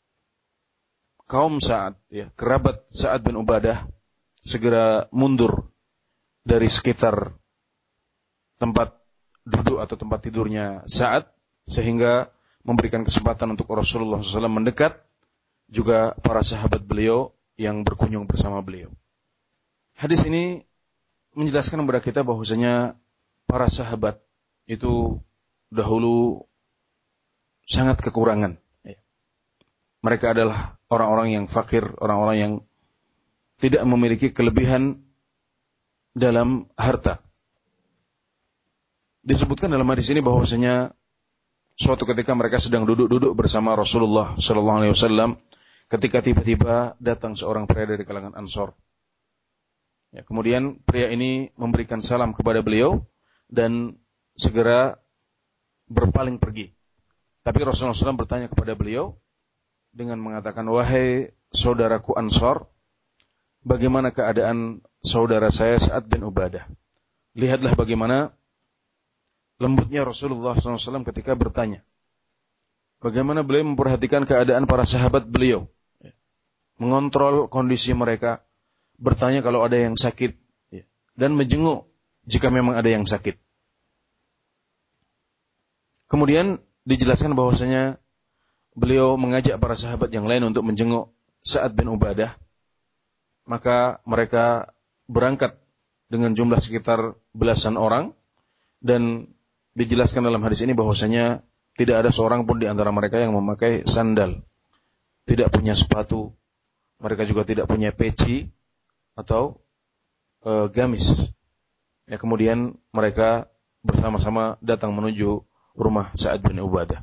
kaum Sa'ad, ya, kerabat Sa'ad bin Ubadah segera mundur dari sekitar tempat duduk atau tempat tidurnya Sa'ad, sehingga memberikan kesempatan untuk Rasulullah shallallahu alaihi wasallam mendekat, juga para sahabat beliau yang berkunjung bersama beliau. Hadis ini menjelaskan kepada kita bahwasanya para sahabat itu dahulu sangat kekurangan. Mereka adalah orang-orang yang fakir, orang-orang yang tidak memiliki kelebihan dalam harta. Disebutkan dalam hadis ini bahwasanya suatu ketika mereka sedang duduk-duduk bersama Rasulullah sallallahu alaihi wasallam ketika tiba-tiba datang seorang pria dari kalangan Ansor. Ya, kemudian pria ini memberikan salam kepada beliau dan segera berpaling pergi. Tapi Rasulullah shallallahu alaihi wasallam bertanya kepada beliau dengan mengatakan, wahai saudaraku Ansor, bagaimana keadaan saudara saya Sa'ad bin Ubadah? Lihatlah bagaimana lembutnya Rasulullah shallallahu alaihi wasallam ketika bertanya. Bagaimana beliau memperhatikan keadaan para sahabat beliau, mengontrol kondisi mereka, bertanya kalau ada yang sakit, dan menjenguk jika memang ada yang sakit. Kemudian dijelaskan bahwasanya beliau mengajak para sahabat yang lain untuk menjenguk Sa'ad bin Ubadah. Maka mereka berangkat dengan jumlah sekitar belasan orang, dan dijelaskan dalam hadis ini bahwasanya tidak ada seorang pun di antara mereka yang memakai sandal, tidak punya sepatu, mereka juga tidak punya peci atau e, gamis. Ya, kemudian mereka bersama-sama datang menuju rumah Sa'ad bin Ubadah.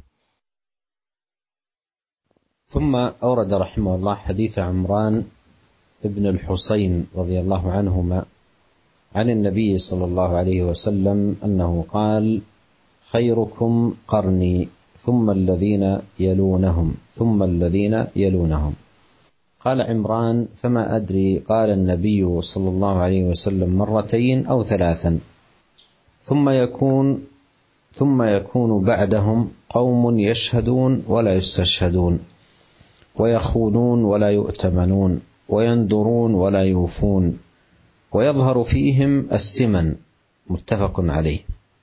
ثم أورد رحمه الله حديث عمران ابن الحصين رضي الله عنهما عن النبي صلى الله عليه وسلم أنه قال: خيركم قرني ثم الذين يلونهم ثم الذين يلونهم. قال عمران: فما أدري، قال النبي صلى الله عليه وسلم مرتين أو ثلاثا، ثم يكون ثم يكون بعدهم قوم يشهدون ولا يستشهدون، ويخونون ولا يؤتمنون، ويندرون ولا يوفون، ويظهر فيهم السمن. متفق عليه.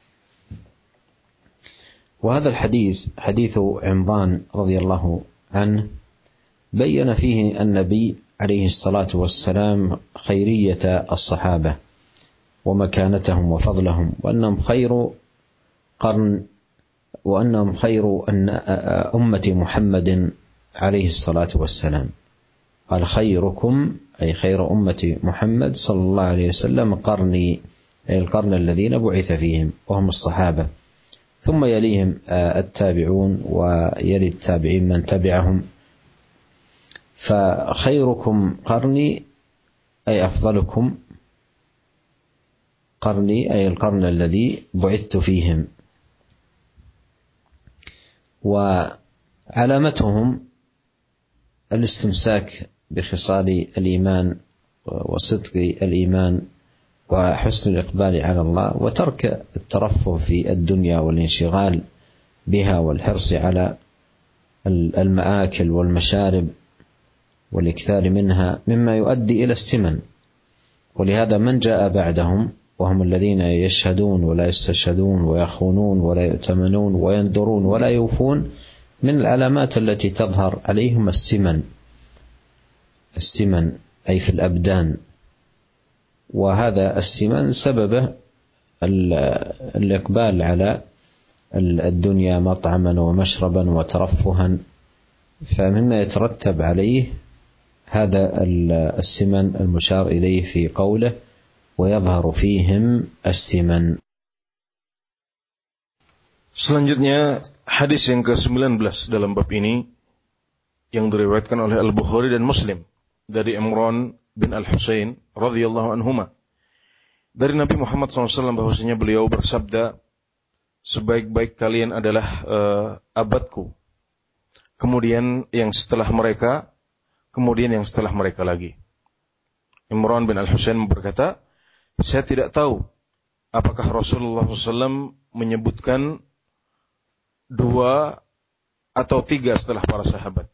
وهذا الحديث حديث عمران رضي الله عنه بين فيه النبي عليه الصلاة والسلام خيرية الصحابة ومكانتهم وفضلهم، وأنهم خير قرن، وأنهم خير أمة محمد عليه الصلاة والسلام. قال خيركم أي خير أمة محمد صلى الله عليه وسلم قرني أي القرن الذين بعث فيهم وهم الصحابة، ثم يليهم التابعون ويلي التابعين من تبعهم. فخيركم قرني أي أفضلكم قرني أي القرن الذي بعثت فيهم. وعلامتهم الاستمساك بخصال الإيمان وصدق الإيمان وحسن الإقبال على الله، وترك الترفه في الدنيا والانشغال بها والحرص على المآكل والمشارب والإكثار منها مما يؤدي إلى السمن. ولهذا من جاء بعدهم وهم الذين يشهدون ولا يستشهدون ويخونون ولا يؤتمنون ويندرون ولا يوفون، من العلامات التي تظهر عليهم السمن، السمن أي في الأبدان. وهذا السمن سببه الإقبال على الدنيا مطعما ومشربا وترفها، فمما يترتب عليه هذا السمن المشار إليه في قوله ويظهر فيهم السمن. Selanjutnya hadis yang ke sembilan belas dalam bab ini yang diriwayatkan oleh Al-Bukhari dan Muslim dari Imran bin Al-Husain radhiyallahu anhuma dari Nabi Muhammad shallallahu alaihi wasallam bahwasanya beliau bersabda, sebaik-baik kalian adalah uh, abadku, kemudian yang setelah mereka, kemudian yang setelah mereka lagi. Imran bin Al-Husain berkata, saya tidak tahu apakah Rasulullah shallallahu alaihi wasallam menyebutkan dua atau tiga setelah para sahabat.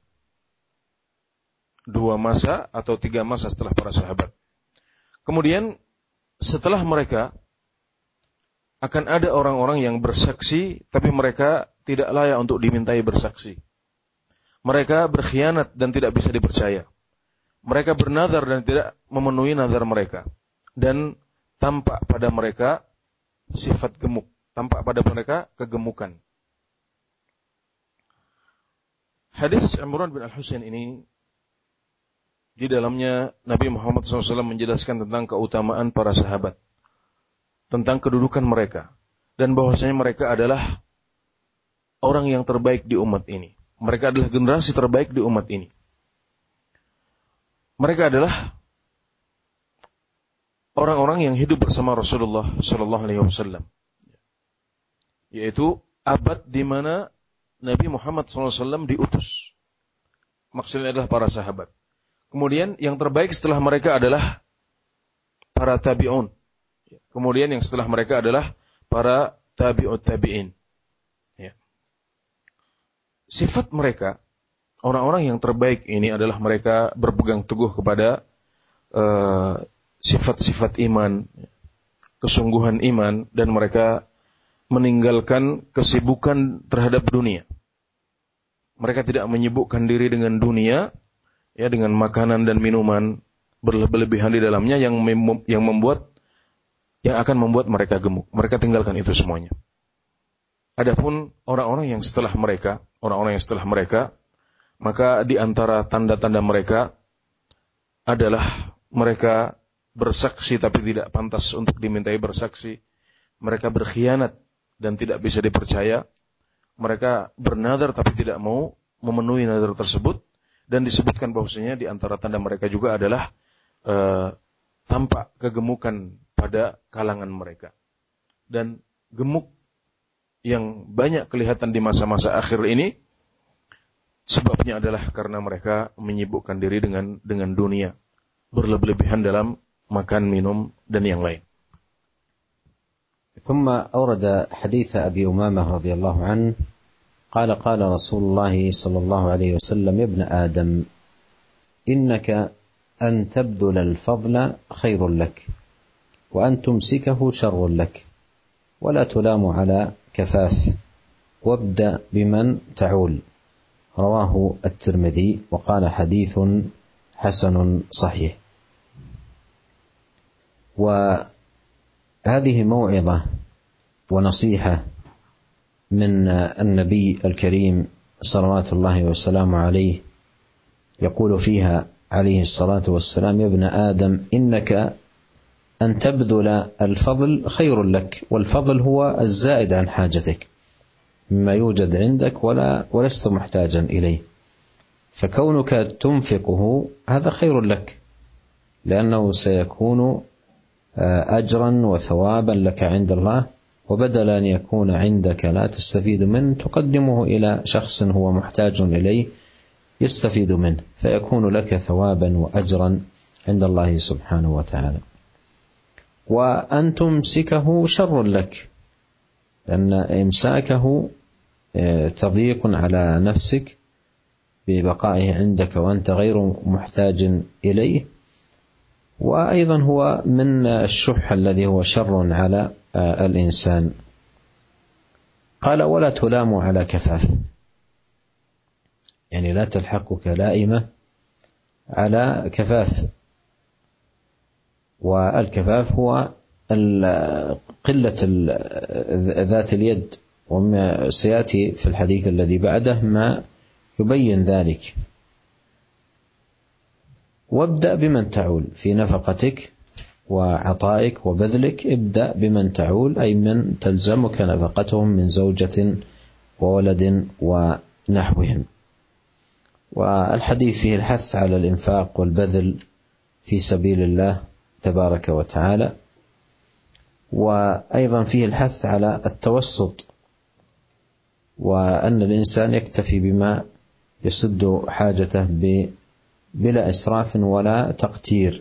Dua masa atau tiga masa setelah para sahabat. Kemudian setelah mereka akan ada orang-orang yang bersaksi, tapi mereka tidak layak untuk dimintai bersaksi. Mereka berkhianat dan tidak bisa dipercaya. Mereka bernazar dan tidak memenuhi nazar mereka. Dan tampak pada mereka sifat gemuk. Tampak pada mereka kegemukan. Hadis Imran bin Al-Husain ini, di dalamnya Nabi Muhammad shallallahu alaihi wasallam menjelaskan tentang keutamaan para sahabat, tentang kedudukan mereka, dan bahwasanya mereka adalah orang yang terbaik di umat ini. Mereka adalah generasi terbaik di umat ini. Mereka adalah orang-orang yang hidup bersama Rasulullah shallallahu alaihi wasallam, yaitu abad di mana Nabi Muhammad shallallahu alaihi wasallam diutus. Maksudnya adalah para sahabat. Kemudian yang terbaik setelah mereka adalah para tabi'un. Kemudian yang setelah mereka adalah para tabi'ut tabi'in. Ya. Sifat mereka, orang-orang yang terbaik ini adalah mereka berpegang teguh kepada uh, sifat-sifat iman, kesungguhan iman, dan mereka meninggalkan kesibukan terhadap dunia. Mereka tidak menyibukkan diri dengan dunia, ya, dengan makanan dan minuman berlebihan di dalamnya yang mem- yang membuat yang akan membuat mereka gemuk. Mereka tinggalkan itu semuanya. Adapun orang-orang yang setelah mereka, orang-orang yang setelah mereka, maka di antara tanda-tanda mereka adalah mereka bersaksi tapi tidak pantas untuk dimintai bersaksi. Mereka berkhianat dan tidak bisa dipercaya. Mereka bernazar tapi tidak mau memenuhi nazar tersebut. Dan disebutkan bahwasanya di antara tanda mereka juga adalah uh, tampak kegemukan pada kalangan mereka. Dan gemuk yang banyak kelihatan di masa-masa akhir ini, sebabnya adalah karena mereka menyibukkan diri dengan dengan dunia, berlebihan dalam makan, minum, dan yang lain. ثم أورد حديث أبي أمامة رضي الله عنه قال قال رسول الله صلى الله عليه وسلم يا ابن آدم إنك أن تبذل الفضل خير لك وأن تمسكه شر لك ولا تلام على كفاف وابدأ بمن تعول. رواه الترمذي وقال حديث حسن صحيح. وهذه موعظة ونصيحة من النبي الكريم صلوات الله وسلامه عليه، يقول فيها عليه الصلاة والسلام: يا ابن آدم إنك أن تبذل الفضل خير لك، والفضل هو الزائد عن حاجتك مما يوجد عندك ولا ولست محتاجا إليه، فكونك تنفقه هذا خير لك، لأنه سيكون أجرا وثوابا لك عند الله، وبدل أن يكون عندك لا تستفيد منه تقدمه إلى شخص هو محتاج إليه يستفيد منه، فيكون لك ثوابا وأجرا عند الله سبحانه وتعالى. وأن تمسكه شر لك، لأن إمساكه تضييق على نفسك ببقائه عندك وأنت غير محتاج إليه، وأيضا هو من الشح الذي هو شر على الإنسان. قال: ولا تلام على كفاف، يعني لا تلحقك لائمة على كفاف، والكفاف هو قلة ذات اليد، وما سيأتي في الحديث الذي بعده ما يبين ذلك. وابدأ بمن تعول في نفقتك وعطائك وبذلك، ابدأ بمن تعول أي من تلزمك نفقتهم من زوجة وولد ونحوهم. والحديث فيه الحث على الإنفاق والبذل في سبيل الله تبارك وتعالى، وأيضا فيه الحث على التوسط، وأن الإنسان يكتفي بما يسد حاجته بلا إسراف ولا تقتير،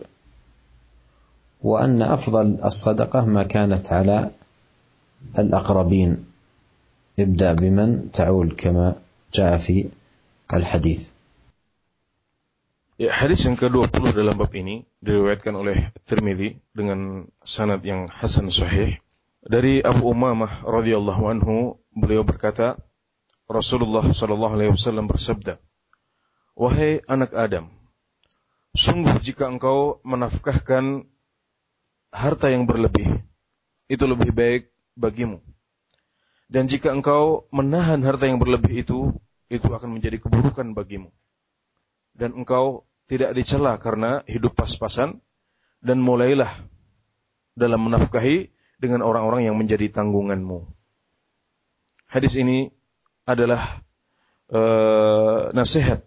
وأن أفضل الصدقة ما كانت على الأقربين، ابدأ بمن تعول كما جاء في الحديث. Ya, hadis yang kedua puluh dalam bab ini diriwayatkan oleh Tirmidzi dengan sanad yang hasan sahih dari Abu Umamah radhiyallahu anhu. Beliau berkata, Rasulullah sallallahu alaihi wasallam bersabda, "Wahai anak Adam, sungguh jika engkau menafkahkan harta yang berlebih, itu lebih baik bagimu. Dan jika engkau menahan harta yang berlebih itu, itu akan menjadi keburukan bagimu. Dan engkau tidak dicela karena hidup pas-pasan, dan mulailah dalam menafkahi dengan orang-orang yang menjadi tanggunganmu." Hadis ini adalah uh, nasihat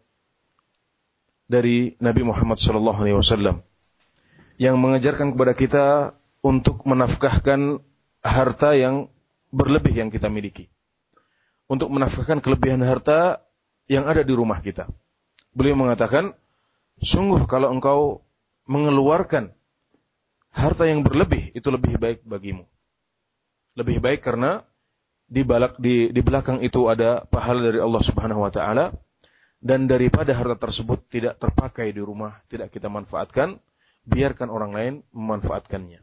dari Nabi Muhammad sallallahu alaihi wasallam yang mengajarkan kepada kita untuk menafkahkan harta yang berlebih yang kita miliki, untuk menafkahkan kelebihan harta yang ada di rumah kita. Beliau mengatakan, sungguh kalau engkau mengeluarkan harta yang berlebih, itu lebih baik bagimu. Lebih baik karena di, balak, di, di belakang itu ada pahala dari Allah Subhanahu wa Ta'ala, dan daripada harta tersebut tidak terpakai di rumah, tidak kita manfaatkan, biarkan orang lain memanfaatkannya.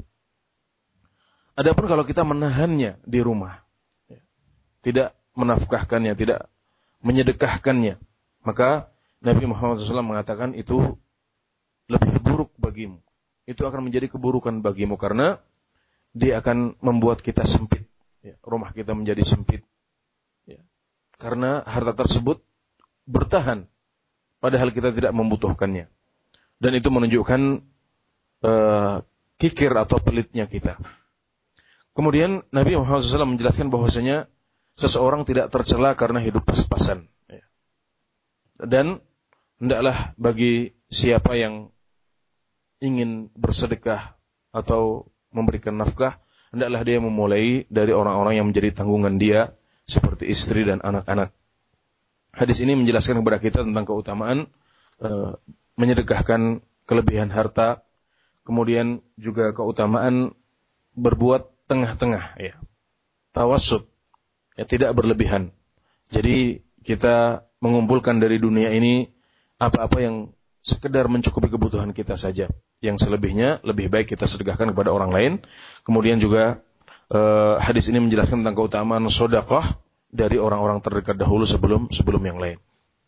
Adapun kalau kita menahannya di rumah, tidak menafkahkannya, tidak menyedekahkannya, maka Nabi Muhammad shallallahu alaihi wasallam mengatakan itu lebih buruk bagimu. Itu akan menjadi keburukan bagimu karena dia akan membuat kita sempit. Ya, rumah kita menjadi sempit. Ya, karena harta tersebut bertahan padahal kita tidak membutuhkannya. Dan itu menunjukkan uh, kikir atau pelitnya kita. Kemudian Nabi Muhammad shallallahu alaihi wasallam menjelaskan bahwasanya seseorang tidak tercela karena hidup pas-pasan. Ya. Dan hendaklah bagi siapa yang ingin bersedekah atau memberikan nafkah, hendaklah dia memulai dari orang-orang yang menjadi tanggungan dia, seperti istri dan anak-anak. Hadis ini menjelaskan kepada kita tentang keutamaan uh, menyedekahkan kelebihan harta, kemudian juga keutamaan berbuat tengah-tengah, ya, tawassut, ya, tidak berlebihan. Jadi kita mengumpulkan dari dunia ini apa-apa yang sekedar mencukupi kebutuhan kita saja. Yang selebihnya lebih baik kita sedekahkan kepada orang lain. Kemudian juga uh, hadis ini menjelaskan tentang keutamaan sedekah dari orang-orang terdekat dahulu sebelum sebelum yang lain.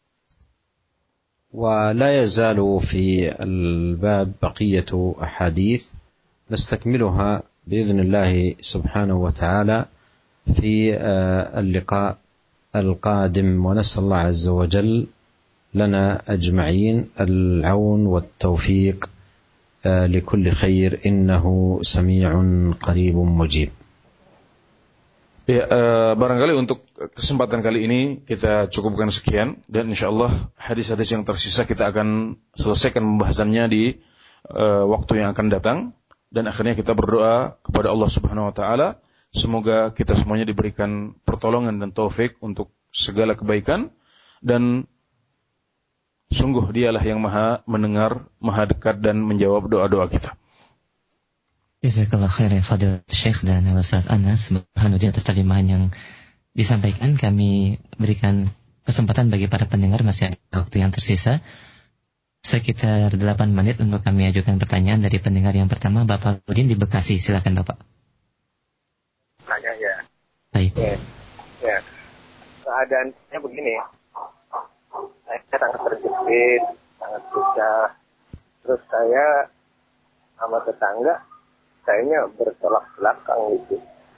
ولا يزال في الباب بقية أحاديث نستكملها بإذن الله سبحانه وتعالى في اللقاء القادم، ونسأل الله عز وجل لنا أجمعين العون والتوفيق لكل خير إنه سميع قريب مجيب. Ya, uh, barangkali untuk kesempatan kali ini kita cukupkan sekian, dan insyaallah hadis-hadis yang tersisa kita akan selesaikan pembahasannya di uh, waktu yang akan datang, dan akhirnya kita berdoa kepada Allah Subhanahu wa taala semoga kita semuanya diberikan pertolongan dan taufik untuk segala kebaikan, dan sungguh dialah yang maha mendengar, maha dekat dan menjawab doa-doa kita. Jazakallah khair ya Fadilatul Syekh dan Ustaz Anas Burhanuddin atas terjemahan yang disampaikan. Kami berikan kesempatan bagi para pendengar, masih ada waktu yang tersisa sekitar delapan menit untuk kami ajukan pertanyaan dari pendengar yang pertama, Bapak Udin di Bekasi. Silakan Bapak. Tanya ya. Baik. Ya. Ya. Keadaannya begini. Saya sangat terjepit, sangat susah. Terus saya sama tetangga kayaknya bertolak belakang gitu.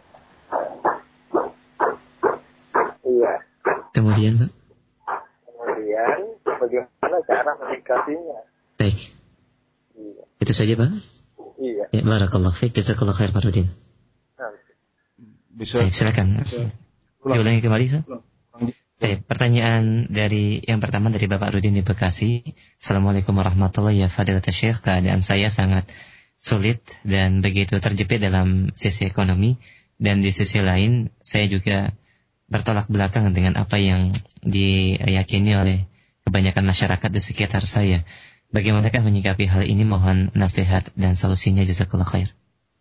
Iya. Kemudian Pak? Kemudian bagaimana cara menyikapinya? Baik. Iya. Itu saja Pak? Iya. Ya, barakallah fiik, jazakallah khair Pak Udin. Bisa. Baik, silakan. Diulangi kembali, Pak. Baik, pertanyaan dari yang pertama dari Bapak Rudin di Bekasi. Assalamualaikum warahmatullahi wabarakatuh. Fadilatul Syekh, keadaan saya sangat sulit dan begitu terjepit dalam sisi ekonomi, dan di sisi lain saya juga bertolak belakang dengan apa yang diyakini oleh kebanyakan masyarakat di sekitar saya. Bagaimanakah menyikapi hal ini? Mohon nasihat dan solusinya, jazakallah khair.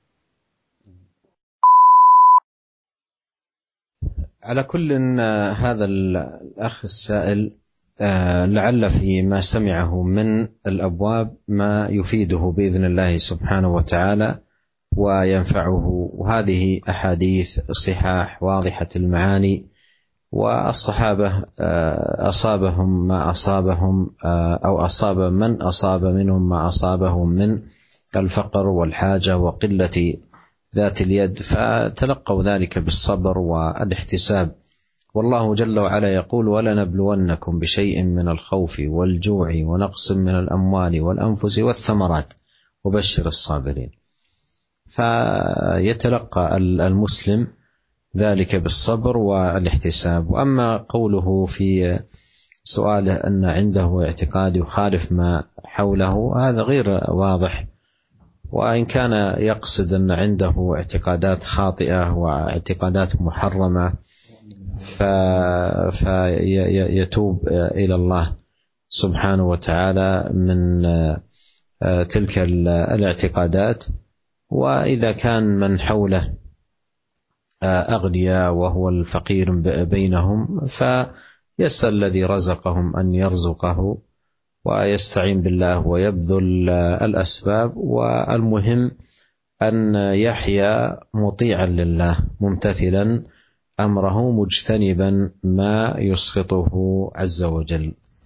على كل هذا الأخ السائل لعل في ما سمعه من الأبواب ما يفيده بإذن الله سبحانه وتعالى وينفعه، وهذه أحاديث صحاح واضحة المعاني، والصحابة أصابهم ما أصابهم أو أصاب من أصاب منهم ما أصابهم من الفقر والحاجة وقلة ذات اليد، فتلقوا ذلك بالصبر والاحتساب. والله جل وعلا يقول: ولنبلونكم بشيء من الخوف والجوع ونقص من الأموال والأنفس والثمرات وبشر الصابرين. فيتلقى المسلم ذلك بالصبر والاحتساب. وأما قوله في سؤاله أن عنده اعتقاد يخالف ما حوله، هذا غير واضح، وإن كان يقصد أن عنده اعتقادات خاطئة واعتقادات محرمة فيتوب إلى الله سبحانه وتعالى من تلك الاعتقادات. وإذا كان من حوله أغنياء وهو الفقير بينهم فيسأل الذي رزقهم أن يرزقه ويستعين بالله ويبذل الأسباب، والمهم أن يحيا مطيعا لله ممتثلا أمره مجتنبا ما يسخطه عز وجل.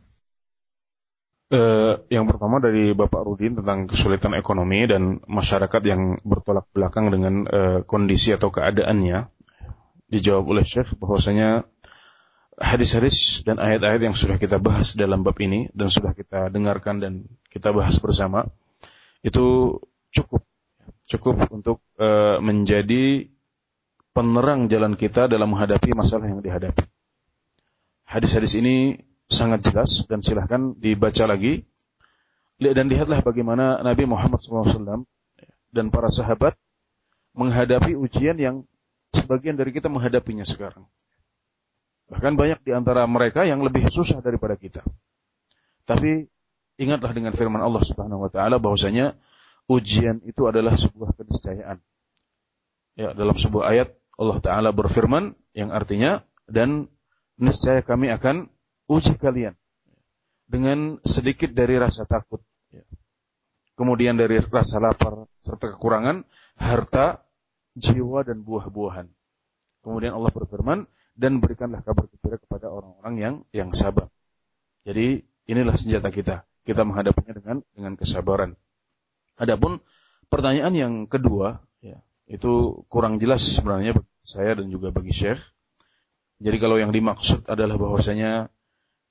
Uh, yang pertama dari Bapak Rudin tentang kesulitan ekonomi dan masyarakat yang bertolak belakang dengan uh, kondisi atau keadaannya, dijawab oleh Syekh bahwasanya hadis-hadis dan ayat-ayat yang sudah kita bahas dalam bab ini dan sudah kita dengarkan dan kita bahas bersama itu cukup cukup untuk uh, menjadi penerang jalan kita dalam menghadapi masalah yang dihadapi. Hadis-hadis ini sangat jelas dan silahkan dibaca lagi, dan lihatlah bagaimana Nabi Muhammad shallallahu alaihi wasallam dan para sahabat menghadapi ujian yang sebagian dari kita menghadapinya sekarang. Bahkan banyak di antara mereka yang lebih susah daripada kita. Tapi ingatlah dengan firman Allah Subhanahu wa taala bahwasanya ujian itu adalah sebuah keniscayaan. Ya, dalam sebuah ayat Allah taala berfirman yang artinya, dan niscaya kami akan uji kalian dengan sedikit dari rasa takut, kemudian dari rasa lapar serta kekurangan harta, jiwa dan buah-buahan. Kemudian Allah berfirman, dan berikanlah kabar gembira kepada orang-orang yang yang sabar. Jadi inilah senjata kita. Kita menghadapinya dengan dengan kesabaran. Adapun pertanyaan yang kedua, ya, itu kurang jelas sebenarnya bagi saya dan juga bagi Syekh. Jadi kalau yang dimaksud adalah bahwasanya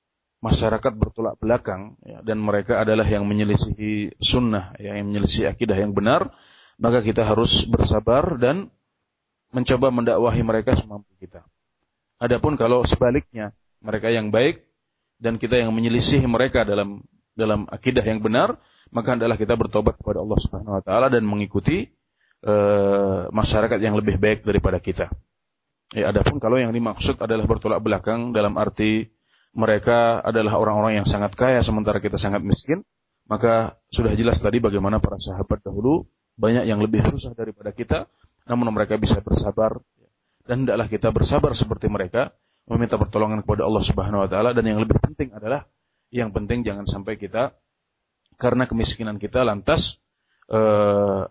masyarakat bertolak belakang ya, dan mereka adalah yang menyelisihi sunnah, ya, yang menyelisihi akidah yang benar, maka kita harus bersabar dan mencoba mendakwahi mereka semampu kita. Adapun kalau sebaliknya, mereka yang baik dan kita yang menyelisihi mereka dalam dalam akidah yang benar, maka hendaklah kita bertobat kepada Allah Subhanahu wa taala dan mengikuti uh, masyarakat yang lebih baik daripada kita. Ya, adapun kalau yang dimaksud adalah bertolak belakang dalam arti mereka adalah orang-orang yang sangat kaya sementara kita sangat miskin, maka sudah jelas tadi bagaimana para sahabat dahulu banyak yang lebih susah daripada kita, namun mereka bisa bersabar, dan hendaklah kita bersabar seperti mereka, meminta pertolongan kepada Allah Subhanahu wa taala, dan yang lebih penting adalah yang penting jangan sampai kita karena kemiskinan kita lantas uh,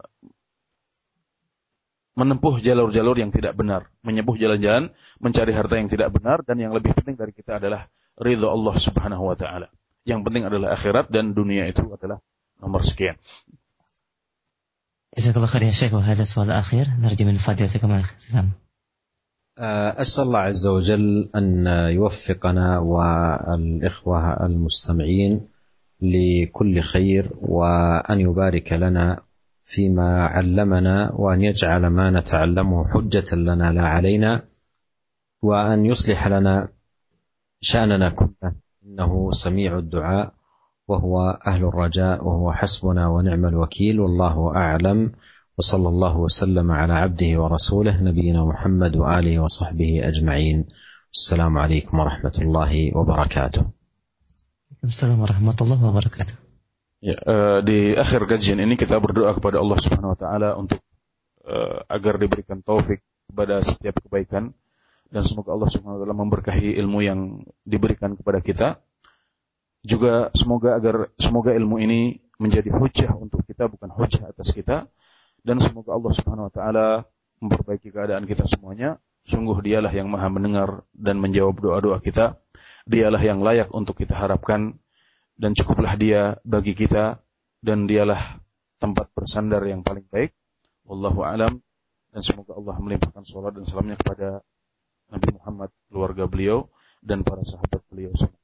menempuh jalur-jalur yang tidak benar, menyembuh jalan-jalan mencari harta yang tidak benar, dan yang lebih penting dari kita adalah ridha Allah Subhanahu wa taala. Yang penting adalah akhirat, dan dunia itu adalah nomor sekian. جزاك الله خير يا شيخ. وهذا السؤال الأخير نرجو من فضيلتكم الاختتام. أسأل الله عز وجل أن يوفقنا والإخوة المستمعين لكل خير، وأن يبارك لنا فيما علمنا، وأن يجعل ما نتعلمه حجة لنا لا علينا، وأن يصلح لنا شأننا كله، إنه سميع الدعاء وهو أهل الرجاء وهو حسبنا ونعم الوكيل، والله أعلم، وصلى الله وسلم على عبده ورسوله نبينا محمد وآله وصحبه أجمعين. السلام عليكم ورحمة الله وبركاته. Assalamualaikum warahmatullahi wabarakatuh. Ya, uh, di akhir kajian ini kita berdoa kepada Allah Subhanahu wa taala untuk uh, agar diberikan taufik kepada setiap kebaikan, dan semoga Allah Subhanahu wa taala memberkahi ilmu yang diberikan kepada kita. Juga semoga agar semoga ilmu ini menjadi hujjah untuk kita, bukan hujjah atas kita, dan semoga Allah Subhanahu wa taala memperbaiki keadaan kita semuanya. Sungguh dialah yang maha mendengar dan menjawab doa-doa kita. Dialah yang layak untuk kita harapkan, dan cukuplah dia bagi kita, dan dialah tempat bersandar yang paling baik. Wallahu a'lam, dan semoga Allah melimpahkan salawat dan salamnya kepada Nabi Muhammad, keluarga beliau, dan para sahabat beliau semua.